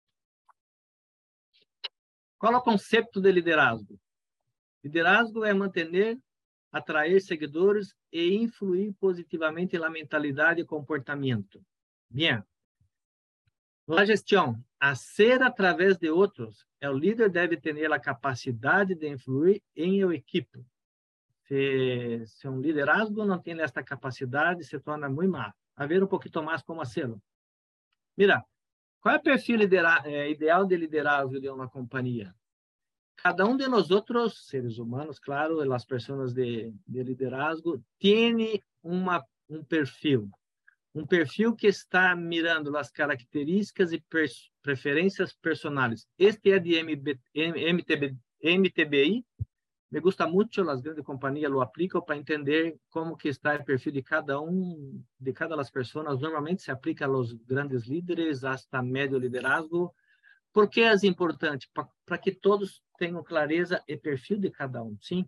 Qual é o conceito de liderazgo? Liderazgo é manter, atrair seguidores e influir positivamente na mentalidade e comportamento. Bem. A gestão, a ser através de outros, o líder deve ter a capacidade de influir em a equipe. Se, se um liderazgo não tem esta capacidade, se torna muito mal. A ver um pouquinho mais como fazê-lo. Mira, qual é o perfil é, ideal de liderazgo de uma companhia? Cada um de nós outros, seres humanos, claro, as pessoas de, de liderazgo, tem uma, um perfil. um perfil que está mirando as características e preferências personais. Este é de M T B, M T B I. Me gusta muito, as grandes companhias lo aplicam para entender como que está o perfil de cada um, de cada das pessoas. Normalmente se aplica aos grandes líderes, hasta médio liderazgo. Por que é importante? Para que todos tenham clareza e perfil de cada um, sim?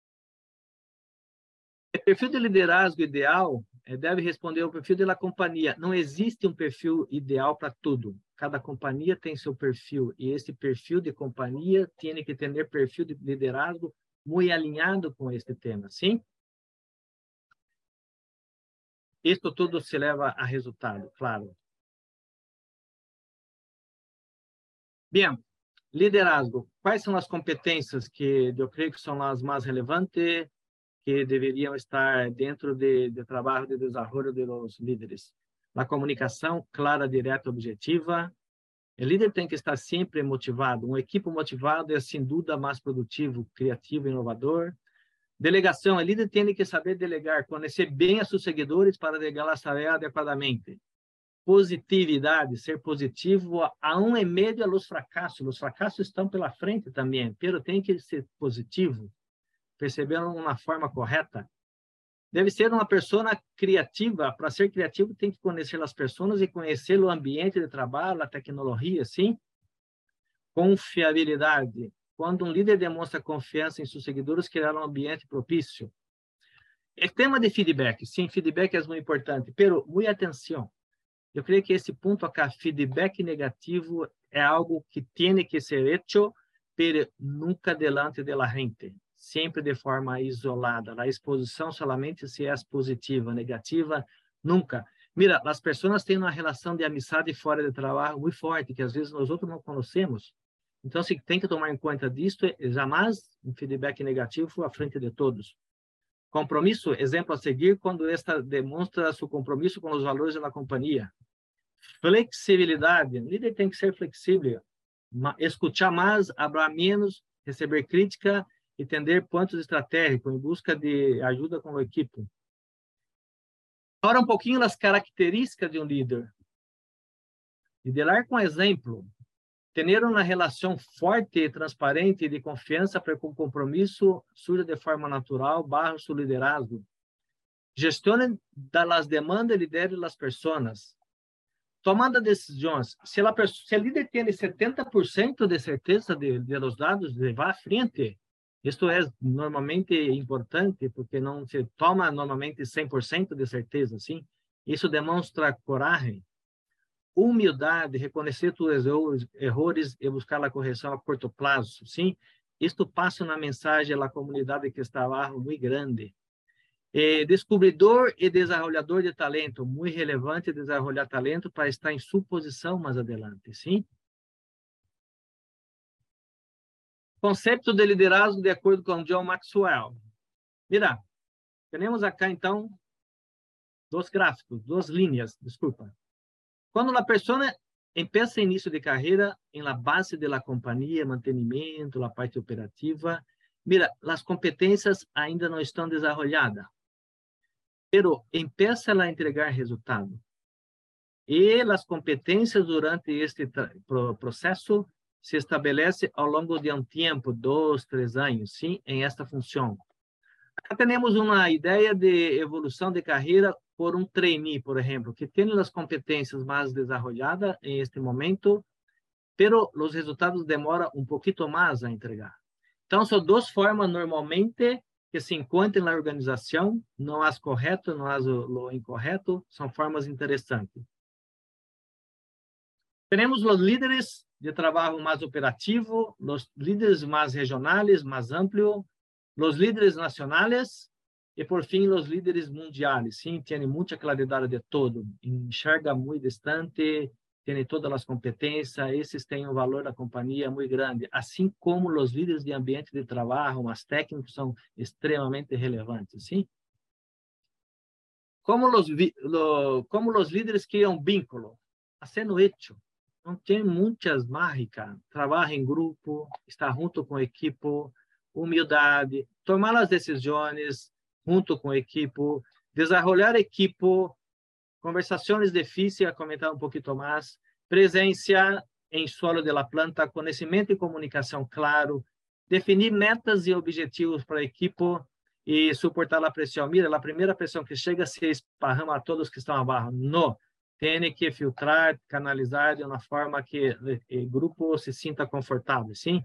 O perfil de liderazgo ideal deve responder ao perfil da companhia. Não existe um perfil ideal para tudo. Cada companhia tem seu perfil, e esse perfil de companhia tem que ter perfil de liderazgo muito alinhado com este tema, sim? Isto tudo se leva a resultado, claro. Bem, liderazgo. Quais são as competências que eu creio que são as mais relevantes, que deveriam estar dentro de, de trabalho de desenvolvimento de los líderes? A comunicação clara, direta, objetiva. O líder tem que estar sempre motivado. Um equipe motivado é, sem dúvida, mais produtivo, criativo, inovador. Delegação. O líder tem que saber delegar, conhecer bem a seus seguidores para delegar a tarefa adequadamente. Positividade, ser positivo, a um e meio aos fracassos. Os fracassos estão pela frente também, mas tem que ser positivo, percebendo uma forma correta. Deve ser uma pessoa criativa. Para ser criativo, tem que conhecer as pessoas e conhecer o ambiente de trabalho, a tecnologia, sim? Confiabilidade. Quando um líder demonstra confiança em seus seguidores, criar um ambiente propício. O tema de feedback. Sim, feedback é muito importante, pero, muita atenção. Eu creio que esse ponto acá, feedback negativo, é algo que tem que ser hecho, pero nunca delante de la gente. Sempre de forma isolada. A exposição somente se é positiva, negativa, nunca. Mira, as pessoas têm uma relação de amizade fora de trabalho muito forte, que às vezes nós outros não conhecemos. Então, se tem que tomar em conta disto, jamais um feedback negativo à frente de todos. Compromisso, exemplo a seguir, quando esta demonstra seu compromisso com os valores da companhia. Flexibilidade, o líder tem que ser flexível, escutar mais, falar menos, receber crítica, entender pontos estratégicos em busca de ajuda com a equipe. Agora, um pouquinho das características de um líder. Liderar com exemplo. Ter uma relação forte, transparente e de confiança para que o compromisso surja de forma natural, barra seu liderazgo. Gestione das demandas e lidere as pessoas. Tomando decisões. Se, ela, se o líder tem setenta por cento de certeza de, de los dados, levar à frente. Isto é normalmente importante, porque não se toma normalmente cem por cento de certeza, sim? Isso demonstra coragem, humildade, reconhecer seus erros e buscar a correção a curto prazo, sim? Isto passa na mensagem à comunidade que está abaixo muito grande. Eh, descobridor e desenvolvedor de talento, muito relevante desenvolver talento para estar em sua posição mais adelante, sim? Conceito de liderazgo de acordo com John Maxwell. Mira, temos acá, então, dois gráficos, duas linhas, desculpa. Quando a pessoa empieza início de carreira em la base de la companhia, mantenimento, la parte operativa, mira, as competências ainda não estão desenvolvidas, pero empieza a entregar resultado. E as competências durante este processo se estabelece ao longo de um tempo, dois, três anos, sim, em esta função. Aqui temos uma ideia de evolução de carreira por um trainee, por exemplo, que tem as competências mais desenvolvidas em este momento, pero os resultados demoram um pouquinho mais a entregar. Então, são duas formas, normalmente, que se encontram na organização, não as correto, não as o incorreto, são formas interessantes. Temos os líderes de trabalho mais operativo, os líderes mais regionais, mais amplios, os líderes nacionais e, por fim, os líderes mundiais. Sim, tem muita claridade de todo, enxerga muito distante, tem todas as competências, esses têm um valor da companhia muito grande, assim como os líderes de ambiente de trabalho, mais técnicos, são extremamente relevantes. Sim? Como os, como os líderes criam vínculo, sendo hecho. Não tem muitas mágicas, trabalho em grupo, estar junto com a equipe, humildade, tomar as decisões junto com a equipe, desenvolver a equipe, conversações difíceis, a comentar um pouquinho mais, presença em solo de la planta, conhecimento e comunicação claro, definir metas e objetivos para a equipe e suportar a pressão. Mira, a primeira pressão que chega se esparrama a todos que estão abaixo. Não. Tem que filtrar, canalizar de uma forma que o grupo se sinta confortável, sim?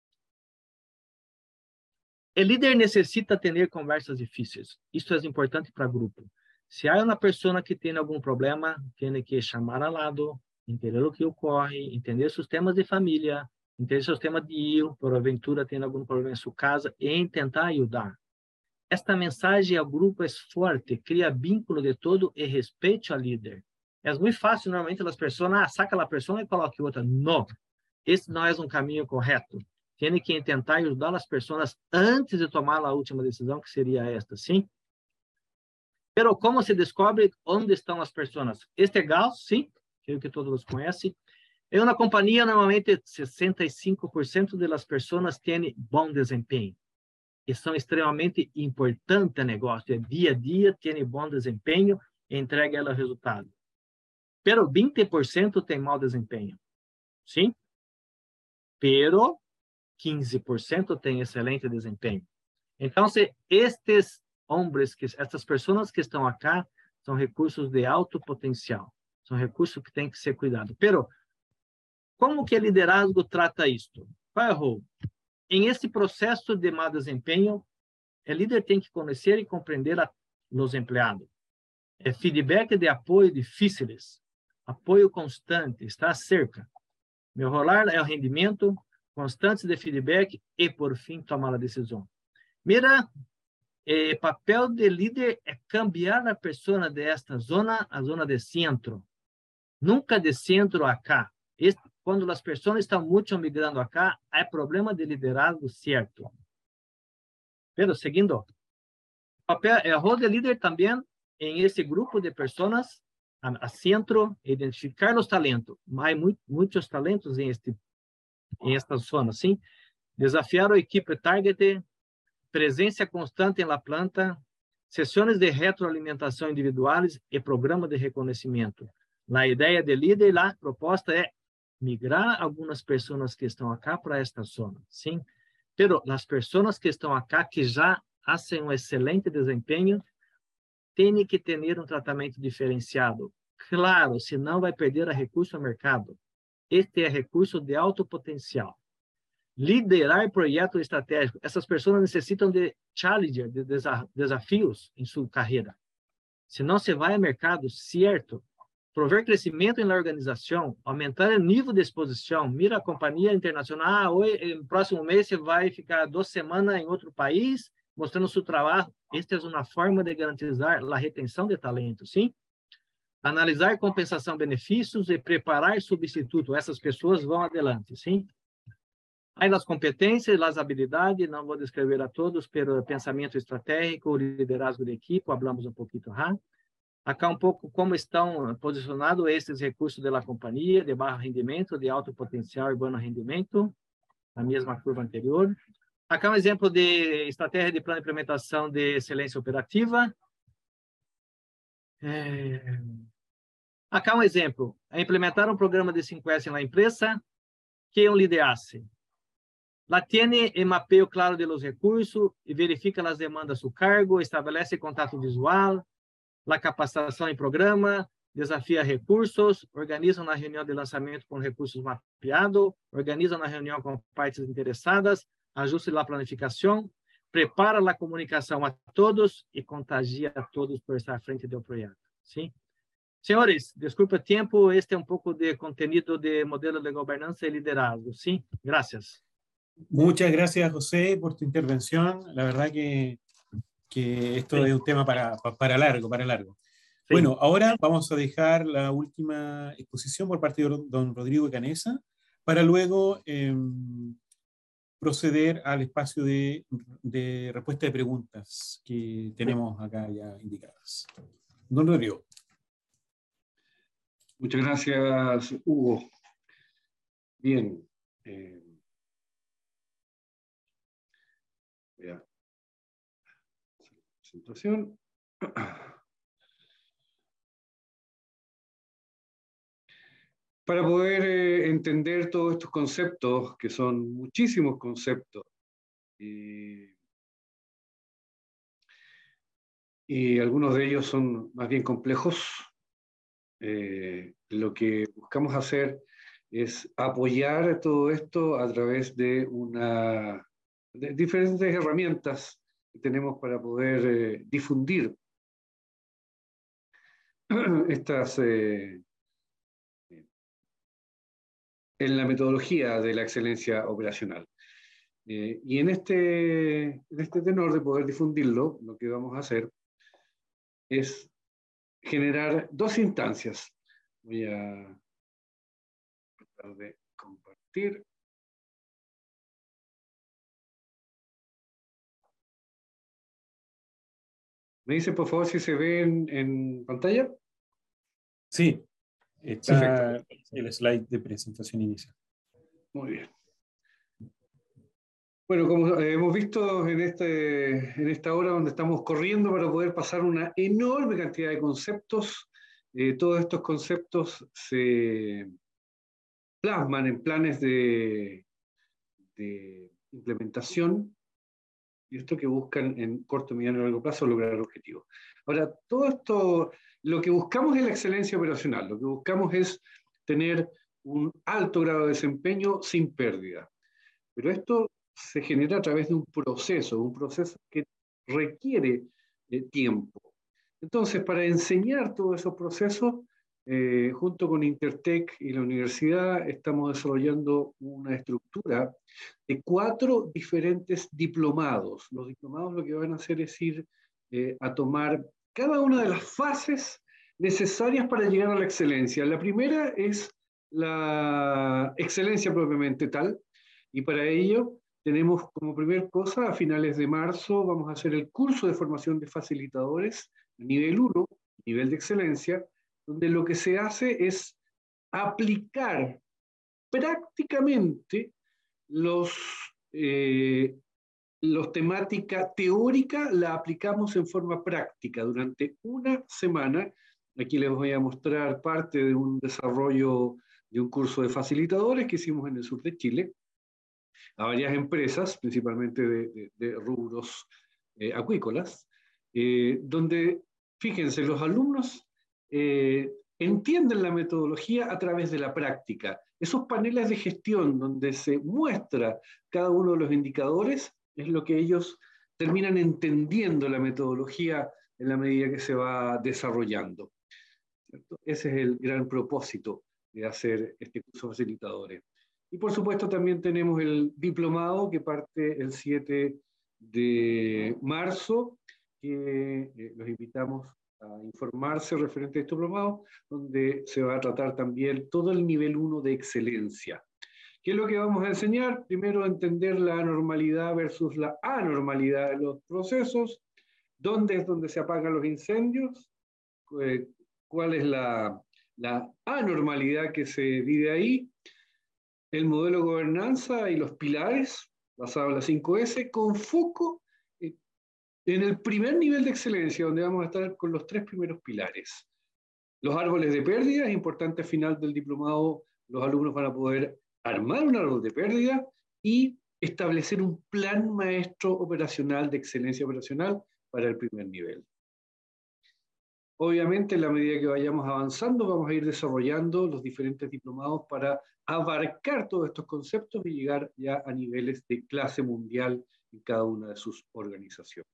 O líder necessita ter conversas difíceis. Isso é importante para o grupo. Se há uma pessoa que tem algum problema, tem que chamar ao lado, entender o que ocorre, entender seus temas de família, entender seus temas de eu, porventura tem algum problema em sua casa, e tentar ajudar. Esta mensagem ao grupo é forte, cria vínculo de todo e respeito ao líder. É muito fácil, normalmente, as pessoas, ah, saca a pessoa e coloca outra. Não, esse não é um caminho correto. Tem que tentar ajudar as pessoas antes de tomar a última decisão, que seria esta, sim? Pero como se descobre onde estão as pessoas? Este é Gauss, sim, creio que todos conhecem. Em uma companhia, normalmente, sessenta e cinco por cento das pessoas têm bom desempenho. E são extremamente importantes no negócio. Dia a dia, têm bom desempenho e entregam o resultado. Pero vinte por cento tem mau desempenho. Sim? Pero quinze por cento tem excelente desempenho. Então, se estes homens, que estas pessoas que estão aqui, são recursos de alto potencial. São recursos que têm que ser cuidados. Pero, como que o liderazgo trata isto? Qual é o rol? Em esse processo de mau desempenho, o líder tem que conhecer e compreender a los empregados. É feedback de apoio difíceis, apoio constante, estar cerca. Melhorar é o rendimento, constantes de feedback e, por fim, tomar a decisão. Mira, o papel de líder é cambiar a pessoa desta zona a zona de centro. Nunca de centro a cá. Este, quando as pessoas estão muito migrando a cá, há problema de liderazgo certo. Pero, seguindo, o papel, é o rol de líder também em esse grupo de pessoas a, a centro, identificar os talentos. Há muito, muitos talentos em, este, em esta zona, sim? Desafiar a equipe target, presença constante na planta, sessões de retroalimentação individuais e programa de reconhecimento. A ideia de líder, a proposta é migrar algumas pessoas que estão aqui para esta zona, sim? Pero as pessoas que estão aqui, que já fazem um excelente desempenho, têm que ter um tratamento diferenciado. Claro, senão vai perder a recurso ao mercado. Este é recurso de alto potencial. Liderar projetos estratégicos. Essas pessoas necessitam de challenger, de desafios em sua carreira. Senão você vai ao mercado, certo? Prover crescimento na organização, aumentar o nível de exposição. Mira a companhia internacional, ah, hoje, no próximo mês você vai ficar duas semanas em outro país, mostrando seu trabalho. Esta é uma forma de garantizar a retenção de talento, sim? Analisar compensação, benefícios e preparar substituto. Essas pessoas vão adelante, sim? Aí as competências, as habilidades, não vou descrever a todos, pelo pensamento estratégico, liderazgo de equipe, falamos um pouquinho, hein? Acá um pouco como estão posicionados esses recursos da companhia, de baixo rendimento, de alto potencial e bom rendimento, a mesma curva anterior. Acá um exemplo de estratégia de plano de implementação de excelência operativa. É... Acá um exemplo, é implementar um programa de cinco S na empresa que um liderasse. La tiene e mapeio claro de los recursos e verifica as demandas do cargo, estabelece contato visual, la capacitação em programa, desafia recursos, organiza uma reunião de lançamento com recursos mapeados, organiza uma reunião com partes interessadas, ajuste a planificação, prepara a comunicação a todos e contagia a todos por estar à frente do projeto. Sim? Senhores, desculpa o tempo, este é um pouco de conteúdo de modelo de governança e liderazgo. Sim? Gracias. Muchas gracias, José, por tu intervención. La verdad que, que esto sí. es un tema para, para largo, para largo. Sí. Bueno, ahora vamos a dejar la última exposición por parte de don Rodrigo Canessa, para luego eh, proceder al espacio de, de respuesta de preguntas que tenemos acá ya indicadas. Don Rodrigo. Muchas gracias, Hugo. Bien. Eh, voy a hacer la presentación. para poder eh, entender todos estos conceptos, que son muchísimos conceptos, y, y algunos de ellos son más bien complejos, eh, lo que buscamos hacer es apoyar todo esto a través de, una, de diferentes herramientas que tenemos para poder eh, difundir estas eh, en la metodología de la excelencia operacional. Eh, y en este, en este tenor de poder difundirlo, lo que vamos a hacer es generar dos instancias. Voy a tratar de compartir. ¿Me dice por favor si se ve en, en pantalla? Sí, está perfecto. El slide de presentación inicial. Muy bien. Bueno, como hemos visto en, este, en esta hora donde estamos corriendo para poder pasar una enorme cantidad de conceptos, eh, todos estos conceptos se plasman en planes de, de implementación, y esto que buscan en corto, mediano y largo plazo lograr objetivos. Ahora, todo esto, lo que buscamos es la excelencia operacional, lo que buscamos es tener un alto grado de desempeño sin pérdida. Pero esto se genera a través de un proceso, un proceso que requiere eh, tiempo. Entonces, para enseñar todos esos procesos, eh, junto con Intertech y la universidad, estamos desarrollando una estructura de cuatro diferentes diplomados. Los diplomados lo que van a hacer es ir eh, a tomar cada una de las fases necesarias para llegar a la excelencia. La primera es la excelencia propiamente tal, y para ello tenemos como primer cosa, a finales de marzo, vamos a hacer el curso de formación de facilitadores, nivel uno, nivel de excelencia, donde lo que se hace es aplicar prácticamente los, eh, los temática teórica, la aplicamos en forma práctica durante una semana. Aquí les voy a mostrar parte de un desarrollo de un curso de facilitadores que hicimos en el sur de Chile, a varias empresas, principalmente de, de, de rubros eh, acuícolas, eh, donde, fíjense, los alumnos eh, entienden la metodología a través de la práctica. Esos paneles de gestión donde se muestra cada uno de los indicadores es lo que ellos terminan entendiendo la metodología en la medida que se va desarrollando, ¿cierto? Ese es el gran propósito de hacer este curso de facilitadores. Y por supuesto también tenemos el diplomado que parte el siete de marzo, que eh, los invitamos a informarse referente a este diplomado, donde se va a tratar también todo el nivel uno de excelencia. ¿Qué es lo que vamos a enseñar? Primero, entender la normalidad versus la anormalidad de los procesos, dónde es donde se apagan los incendios, eh, cuál es la, la anormalidad que se vive ahí, el modelo de gobernanza y los pilares, basado en las cinco ese, con foco en el primer nivel de excelencia, donde vamos a estar con los tres primeros pilares. Los árboles de pérdida, es importante al final del diplomado, los alumnos van a poder armar un árbol de pérdida y establecer un plan maestro operacional de excelencia operacional para el primer nivel. Obviamente, en la medida que vayamos avanzando, vamos a ir desarrollando los diferentes diplomados para abarcar todos estos conceptos y llegar ya a niveles de clase mundial en cada una de sus organizaciones.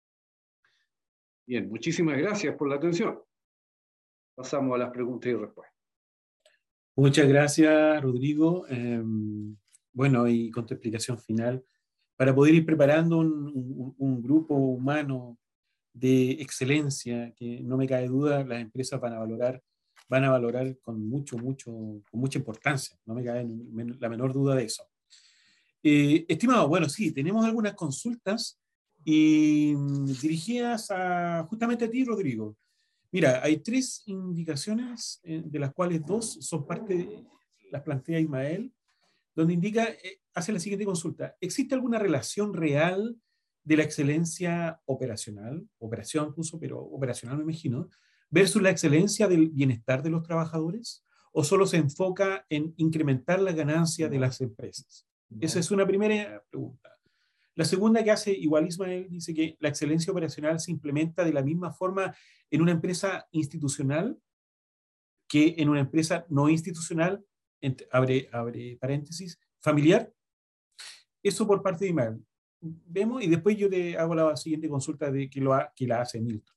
Bien, muchísimas gracias por la atención. Pasamos a las preguntas y respuestas. Muchas gracias, Rodrigo. Eh, bueno, y con tu explicación final, para poder ir preparando un, un, un grupo humano de excelencia, que no me cabe duda, las empresas van a valorar, van a valorar con mucho, mucho, con mucha importancia, no me cabe la menor duda de eso. Eh, estimado, bueno, sí, tenemos algunas consultas y dirigidas a, justamente a ti, Rodrigo. Mira, hay tres indicaciones, eh, de las cuales dos son parte, de, las plantea Ismael, donde indica, eh, hace la siguiente consulta: ¿existe alguna relación real de la excelencia operacional, operación incluso, pero operacional me imagino, versus la excelencia del bienestar de los trabajadores? o solo se enfoca en incrementar la ganancia de las empresas? Esa es una primera pregunta. La segunda que hace igual Ismael dice que la excelencia operacional se implementa de la misma forma en una empresa institucional que en una empresa no institucional, entre, abre, abre paréntesis, familiar. Eso por parte de Ismael. Vemos y después yo te hago la siguiente consulta de que, lo ha, que la hace Milton.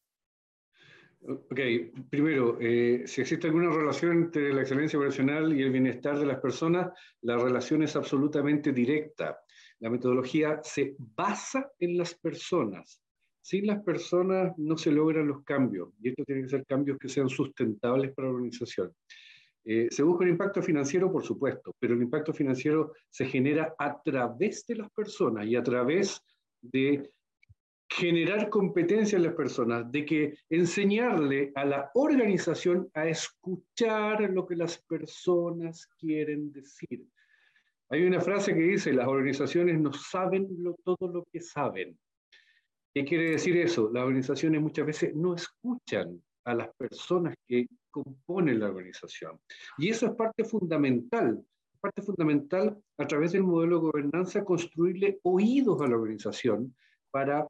Ok, primero, eh, si existe alguna relación entre la excelencia operacional y el bienestar de las personas, la relación es absolutamente directa. La metodología se basa en las personas. Sin las personas no se logran los cambios, y estos tienen que ser cambios que sean sustentables para la organización. Eh, se busca un impacto financiero, por supuesto, pero el impacto financiero se genera a través de las personas y a través de generar competencia en las personas, de que enseñarle a la organización a escuchar lo que las personas quieren decir. Hay una frase que dice, las organizaciones no saben lo, todo lo que saben. ¿Qué quiere decir eso? Las organizaciones muchas veces no escuchan a las personas que componen la organización. Y eso es parte fundamental, parte fundamental a través del modelo de gobernanza, construirle oídos a la organización para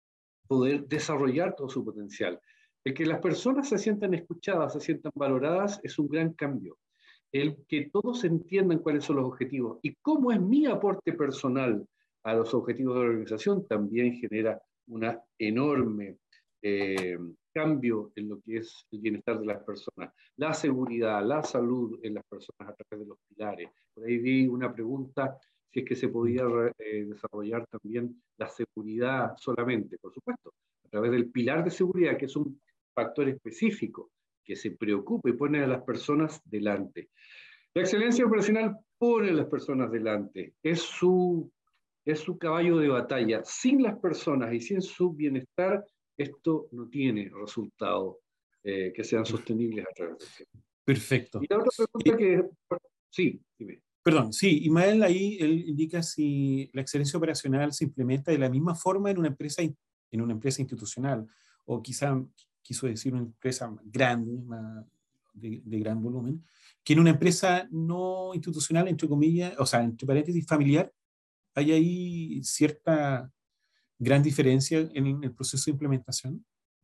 poder desarrollar todo su potencial. El que las personas se sientan escuchadas, se sientan valoradas, es un gran cambio. El que todos entiendan cuáles son los objetivos y cómo es mi aporte personal a los objetivos de la organización también genera un enorme eh, cambio en lo que es el bienestar de las personas. La seguridad, la salud en las personas a través de los pilares. Por ahí vi una pregunta si es que se podía eh, desarrollar también la seguridad solamente, por supuesto, a través del pilar de seguridad, que es un factor específico que se preocupa y pone a las personas delante. La excelencia operacional pone a las personas delante, es su, es su caballo de batalla. Sin las personas y sin su bienestar, esto no tiene resultados eh, que sean sostenibles a través del tiempo. Perfecto. Y la otra pregunta que... Sí, dime. Perdón, sí, Ismael ahí él indica si la excelencia operacional se implementa de la misma forma en una empresa, en una empresa institucional, o quizá quiso decir una empresa grande, más de, de gran volumen, que en una empresa no institucional, entre comillas, o sea, entre paréntesis, familiar, hay ahí cierta gran diferencia en el proceso de implementación.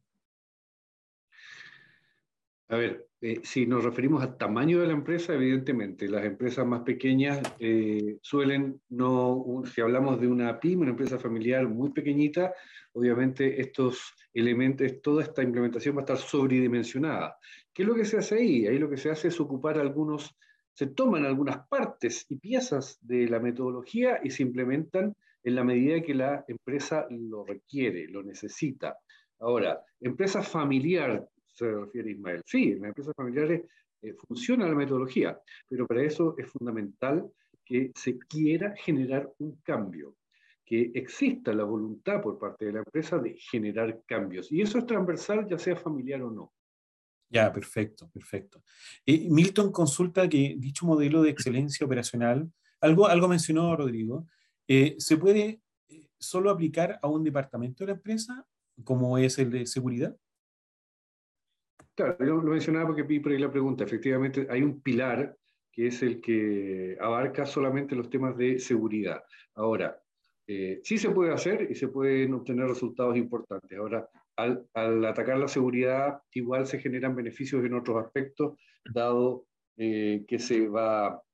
A ver, eh, si nos referimos al tamaño de la empresa, evidentemente, las empresas más pequeñas eh, suelen no, un, si hablamos de una pyme, una empresa familiar muy pequeñita, obviamente estos elementos, toda esta implementación va a estar sobredimensionada. ¿Qué es lo que se hace ahí? Ahí lo que se hace es ocupar algunos, se toman algunas partes y piezas de la metodología y se implementan en la medida que la empresa lo requiere, lo necesita. Ahora, empresa familiar, se refiere Ismael. Sí, en las empresas familiares eh, funciona la metodología, pero para eso es fundamental que se quiera generar un cambio, que exista la voluntad por parte de la empresa de generar cambios. Y eso es transversal, ya sea familiar o no. Ya, perfecto, perfecto. Eh, Milton consulta que dicho modelo de excelencia operacional, algo, algo mencionó Rodrigo, eh, ¿se puede eh, solo aplicar a un departamento de la empresa, como es el de seguridad? Claro, yo lo mencionaba porque vi por ahí la pregunta. Efectivamente, hay un pilar que es el que abarca solamente los temas de seguridad. Ahora, eh, sí se puede hacer y se pueden obtener resultados importantes. Ahora, al, al atacar la seguridad, igual se generan beneficios en otros aspectos, dado eh, que se va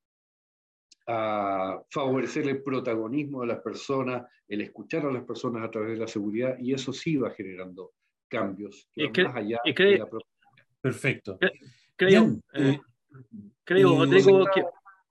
a favorecer el protagonismo de las personas, el escuchar a las personas a través de la seguridad, y eso sí va generando cambios que van más allá de la propia. Perfecto. Creo, Bien, eh, eh, creo eh, Rodrigo, que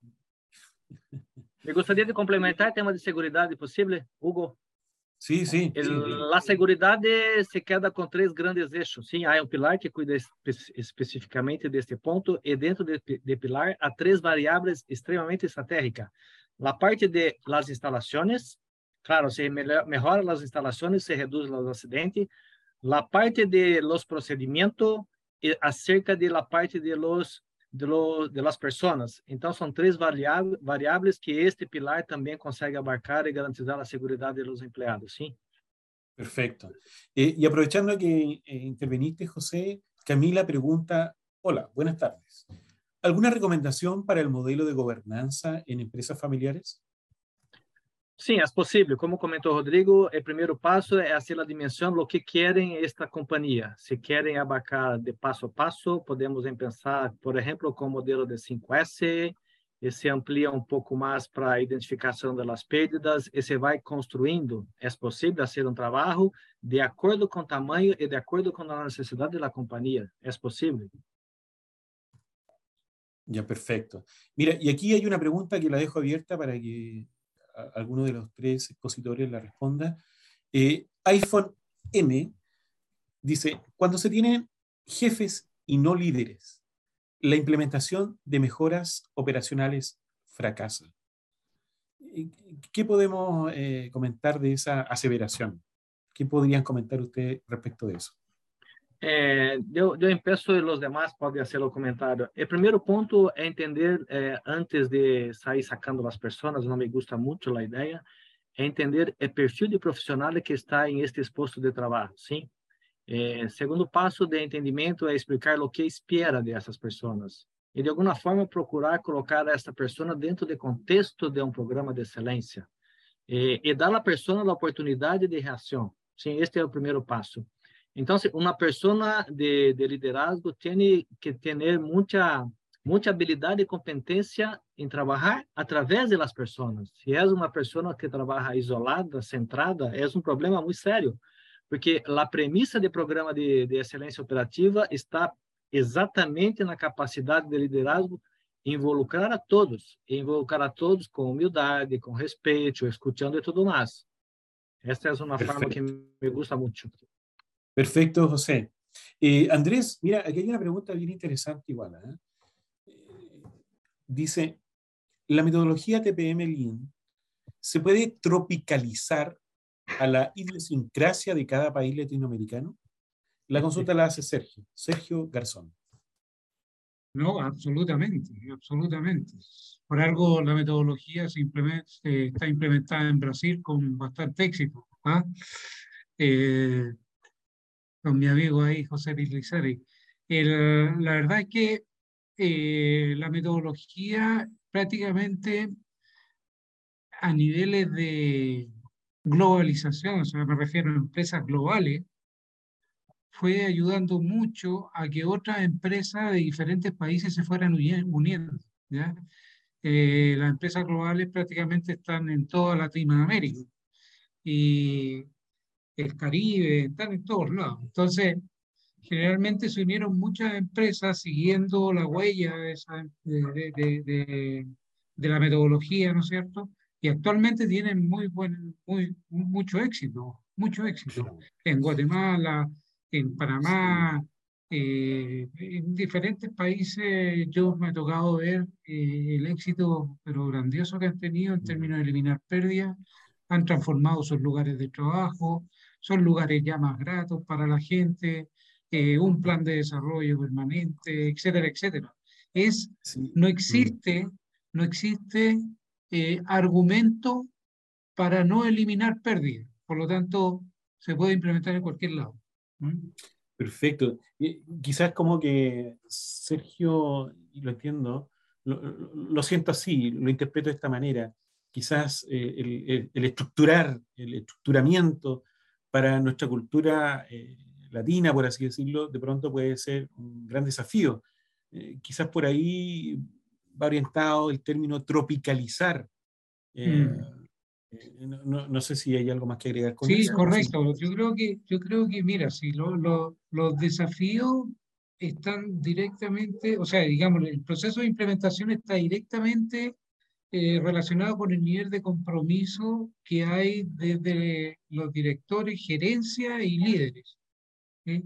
me gustaría de complementar el tema de seguridad, ¿posible, Hugo? Sí, sí. El, sí. La seguridad se queda con tres grandes eixos. Sim, há um pilar que cuida espe especificamente deste ponto, e dentro de, de pilar há três variáveis extremamente estratégicas. A parte de las instalações, claro, se melhora as instalações, se reduz os acidentes. A parte de los procedimentos e acerca de la parte de los de, lo, de las personas. Então, são três variáveis, variáveis que este pilar também consegue abarcar e garantizar a segurança dos empregados, sim? Perfecto. Eh, y aprovechando que eh, interveniste, José, Camila pregunta, hola, buenas tardes. ¿Alguna recomendación para el modelo de gobernanza en empresas familiares? Sim, é possível. Como comentou o Rodrigo, o primeiro passo é fazer a dimensão do que querem esta companhia. Se querem abarcar de passo a passo, podemos pensar, por exemplo, com o modelo de cinco S, e se amplia um pouco mais para a identificação das perdas, e se vai construindo. É possível fazer um trabalho de acordo com o tamanho e de acordo com a necessidade da companhia. É possível. Ya, perfecto. Mira, y aquí hay una pregunta que la dejo abierta para que alguno de los tres expositores la responda. Eh, iPhone M dice, cuando se tienen jefes y no líderes, la implementación de mejoras operacionales fracasa. ¿Qué podemos eh, comentar de esa aseveración? ¿Qué podrían comentar ustedes respecto de eso? É, eu, eu empeço e os demais podem fazer o comentário. O primeiro ponto é entender, é, antes de sair sacando as pessoas, não me gusta muito a ideia, é entender o perfil de profissional que está em este posto de trabalho, sim? É, segundo passo de entendimento é explicar o que espera dessas pessoas e, de alguma forma, procurar colocar essa pessoa dentro do contexto de um programa de excelência e, e dar à pessoa a oportunidade de reação. Sim, este é o primeiro passo. Então, uma pessoa de, de liderazgo tem que ter muita, muita habilidade e competência em trabalhar através das pessoas. Se é uma pessoa que trabalha isolada, centrada, é um problema muito sério, porque a premissa do programa de, de excelência operativa está exatamente na capacidade de liderazgo involucrar a todos, e involucrar a todos com humildade, com respeito, escutando e tudo mais. Esta é uma Perfecto. forma que me gusta muito. Perfecto, José. Eh, Andrés, mira, aquí hay una pregunta bien interesante igual. ¿eh? Eh, dice, ¿la metodología T P M Lean se puede tropicalizar a la idiosincrasia de cada país latinoamericano? La consulta la hace Sergio, Sergio Garzón. No, absolutamente, absolutamente. Por algo la metodología se implementa, se está implementada en Brasil con bastante éxito. ¿Ah? Eh, con mi amigo ahí, José Lizari. El, la verdad es que eh, la metodología prácticamente a niveles de globalización, o sea, me refiero a empresas globales, fue ayudando mucho a que otras empresas de diferentes países se fueran uniendo, ¿ya? Eh, las empresas globales prácticamente están en toda Latinoamérica y el Caribe, están en todos lados. Entonces, generalmente se unieron muchas empresas siguiendo la huella de, esa, de, de, de, de la metodología, ¿no es cierto? Y actualmente tienen muy buen, muy, mucho éxito, mucho éxito. En Guatemala, en Panamá, eh, en diferentes países yo me ha tocado ver eh, el éxito, pero grandioso que han tenido en términos de eliminar pérdidas, han transformado sus lugares de trabajo, son lugares ya más gratos para la gente, eh, un plan de desarrollo permanente, etcétera, etcétera. Es, Sí. no existe, no existe eh, argumento para no eliminar pérdidas. Por lo tanto, se puede implementar en cualquier lado. ¿Mm? Perfecto. Y quizás como que Sergio, y lo entiendo, lo, lo, lo siento así, lo interpreto de esta manera. Quizás eh, el, el, el estructurar, el estructuramiento para nuestra cultura eh, latina, por así decirlo, de pronto puede ser un gran desafío. Eh, quizás por ahí va orientado el término tropicalizar. Eh, Mm. eh, no, no, no sé si hay algo más que agregar con Sí, eso. correcto. Yo creo que, yo creo que mira, si lo, lo, los desafíos están directamente, o sea, digamos, el proceso de implementación está directamente eh, relacionado con el nivel de compromiso que hay desde los directores, gerencia y líderes. ¿Sí?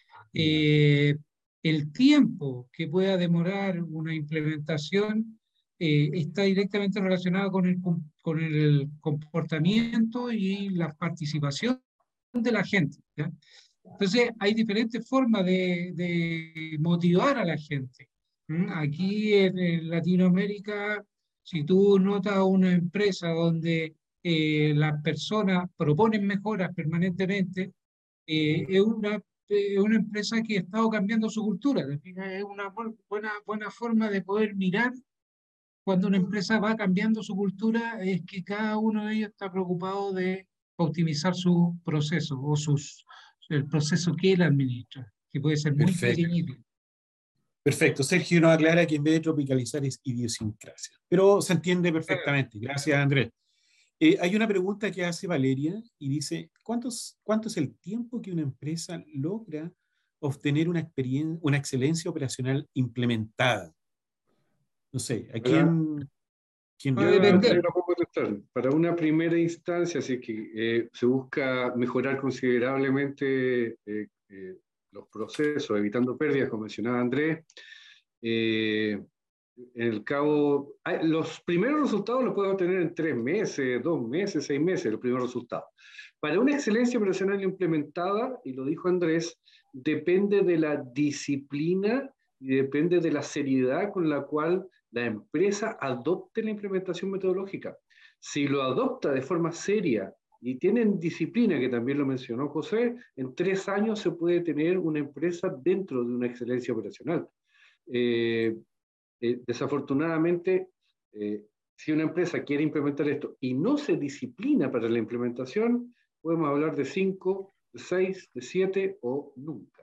Eh, el tiempo que pueda demorar una implementación eh, está directamente relacionado con el, con el comportamiento y la participación de la gente, ¿ya? Entonces, hay diferentes formas de, de motivar a la gente. ¿Mm? Aquí en, en Latinoamérica, si tú notas una empresa donde eh, las personas proponen mejoras permanentemente, eh, es una es una empresa que ha estado cambiando su cultura. Es una buena, buena forma de poder mirar cuando una empresa va cambiando su cultura, es que cada uno de ellos está preocupado de optimizar su proceso o sus, el proceso que él administra, que puede ser muy Perfecto. pequeñito. Perfecto. Sergio nos aclara que en vez de tropicalizar es idiosincrasia. Pero se entiende perfectamente. Gracias, Andrés. Eh, hay una pregunta que hace Valeria y dice, ¿cuántos, ¿cuánto es el tiempo que una empresa logra obtener una, experiencia, una excelencia operacional implementada? No sé, ¿a quién, quién Va a Yo la, depender. yo la puedo contestar. Para una primera instancia, si es que eh, se busca mejorar considerablemente eh, eh, los procesos, evitando pérdidas, como mencionaba Andrés, eh, en el cabo, hay- los primeros resultados los puedes obtener en tres meses, dos meses, seis meses, los primeros resultados. Para una excelencia operacional implementada, y lo dijo Andrés, depende de la disciplina y depende de la seriedad con la cual la empresa adopte la implementación metodológica. Si lo adopta de forma seria y tienen disciplina, que también lo mencionó José, en tres años se puede tener una empresa dentro de una excelencia operacional. Eh, eh, desafortunadamente, eh, si una empresa quiere implementar esto y no se disciplina para la implementación, podemos hablar de cinco, de seis, de siete o nunca.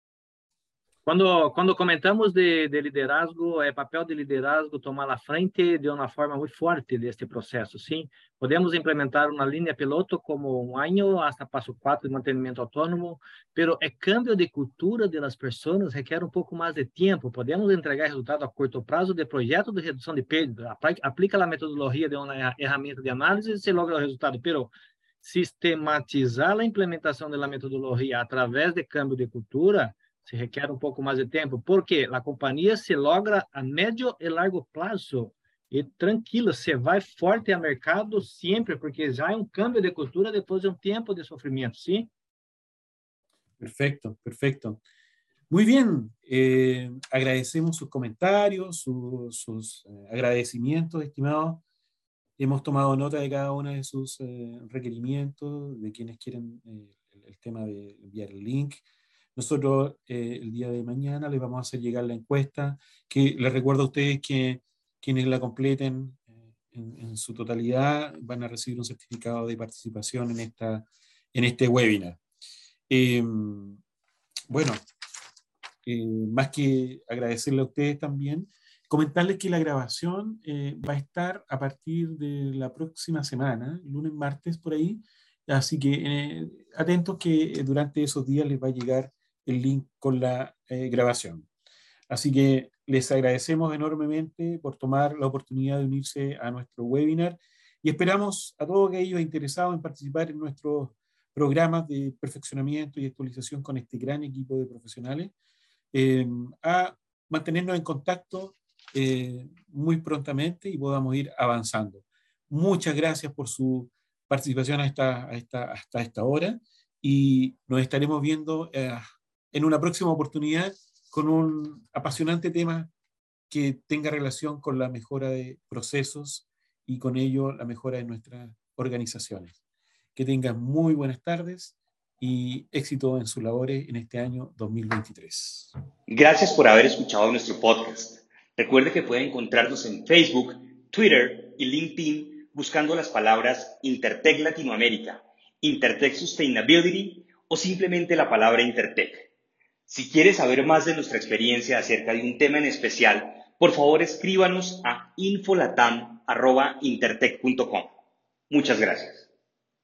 Quando, quando comentamos de, de liderazgo, é papel de liderazgo tomar a frente de uma forma muito forte deste processo, sim. Podemos implementar uma linha piloto como um ano, hasta passo quatro de mantenimento autônomo, pero é cambio de cultura das pessoas requer um pouco mais de tempo. Podemos entregar resultado a curto prazo de projeto de redução de perda. Aplica a metodologia de uma ferramenta de análise e se logra o resultado, pero sistematizar a implementação da metodologia através de cambio de cultura se requer um pouco mais de tempo, porque a companhia se logra a médio e largo prazo. E tranquilo, você vai forte a mercado sempre, porque já é um câmbio de cultura depois de um tempo de sofrimento, ¿sí? Perfecto, perfecto. Muy bien, eh, agradecemos sus comentarios, su, sus eh, agradecimientos, estimados. Hemos tomado nota de cada uno de sus eh, requerimientos, de quienes quieren eh, el, el tema de enviar el link. Nosotros eh, el día de mañana les vamos a hacer llegar la encuesta, que les recuerdo a ustedes que quienes la completen eh, en, en su totalidad van a recibir un certificado de participación en, esta, en este webinar. Eh, bueno, eh, más que agradecerle a ustedes también, comentarles que la grabación eh, va a estar a partir de la próxima semana, lunes, martes, por ahí. Así que eh, atentos que durante esos días les va a llegar el link con la eh, grabación. Así que les agradecemos enormemente por tomar la oportunidad de unirse a nuestro webinar y esperamos a todos aquellos interesados en participar en nuestros programas de perfeccionamiento y actualización con este gran equipo de profesionales eh, a mantenernos en contacto eh, muy prontamente y podamos ir avanzando. Muchas gracias por su participación a esta, a esta, hasta esta hora y nos estaremos viendo eh, en una próxima oportunidad con un apasionante tema que tenga relación con la mejora de procesos y con ello la mejora de nuestras organizaciones. Que tengan muy buenas tardes y éxito en sus labores en este año dos mil veintitrés. Gracias por haber escuchado nuestro podcast. Recuerde que puede encontrarnos en Facebook, Twitter y LinkedIn buscando las palabras Intertech Latinoamérica, Intertech Sustainability o simplemente la palabra Intertech. Si quiere saber más de nuestra experiencia acerca de un tema en especial, por favor escríbanos a infolatam arroba intertech punto com. Muchas gracias.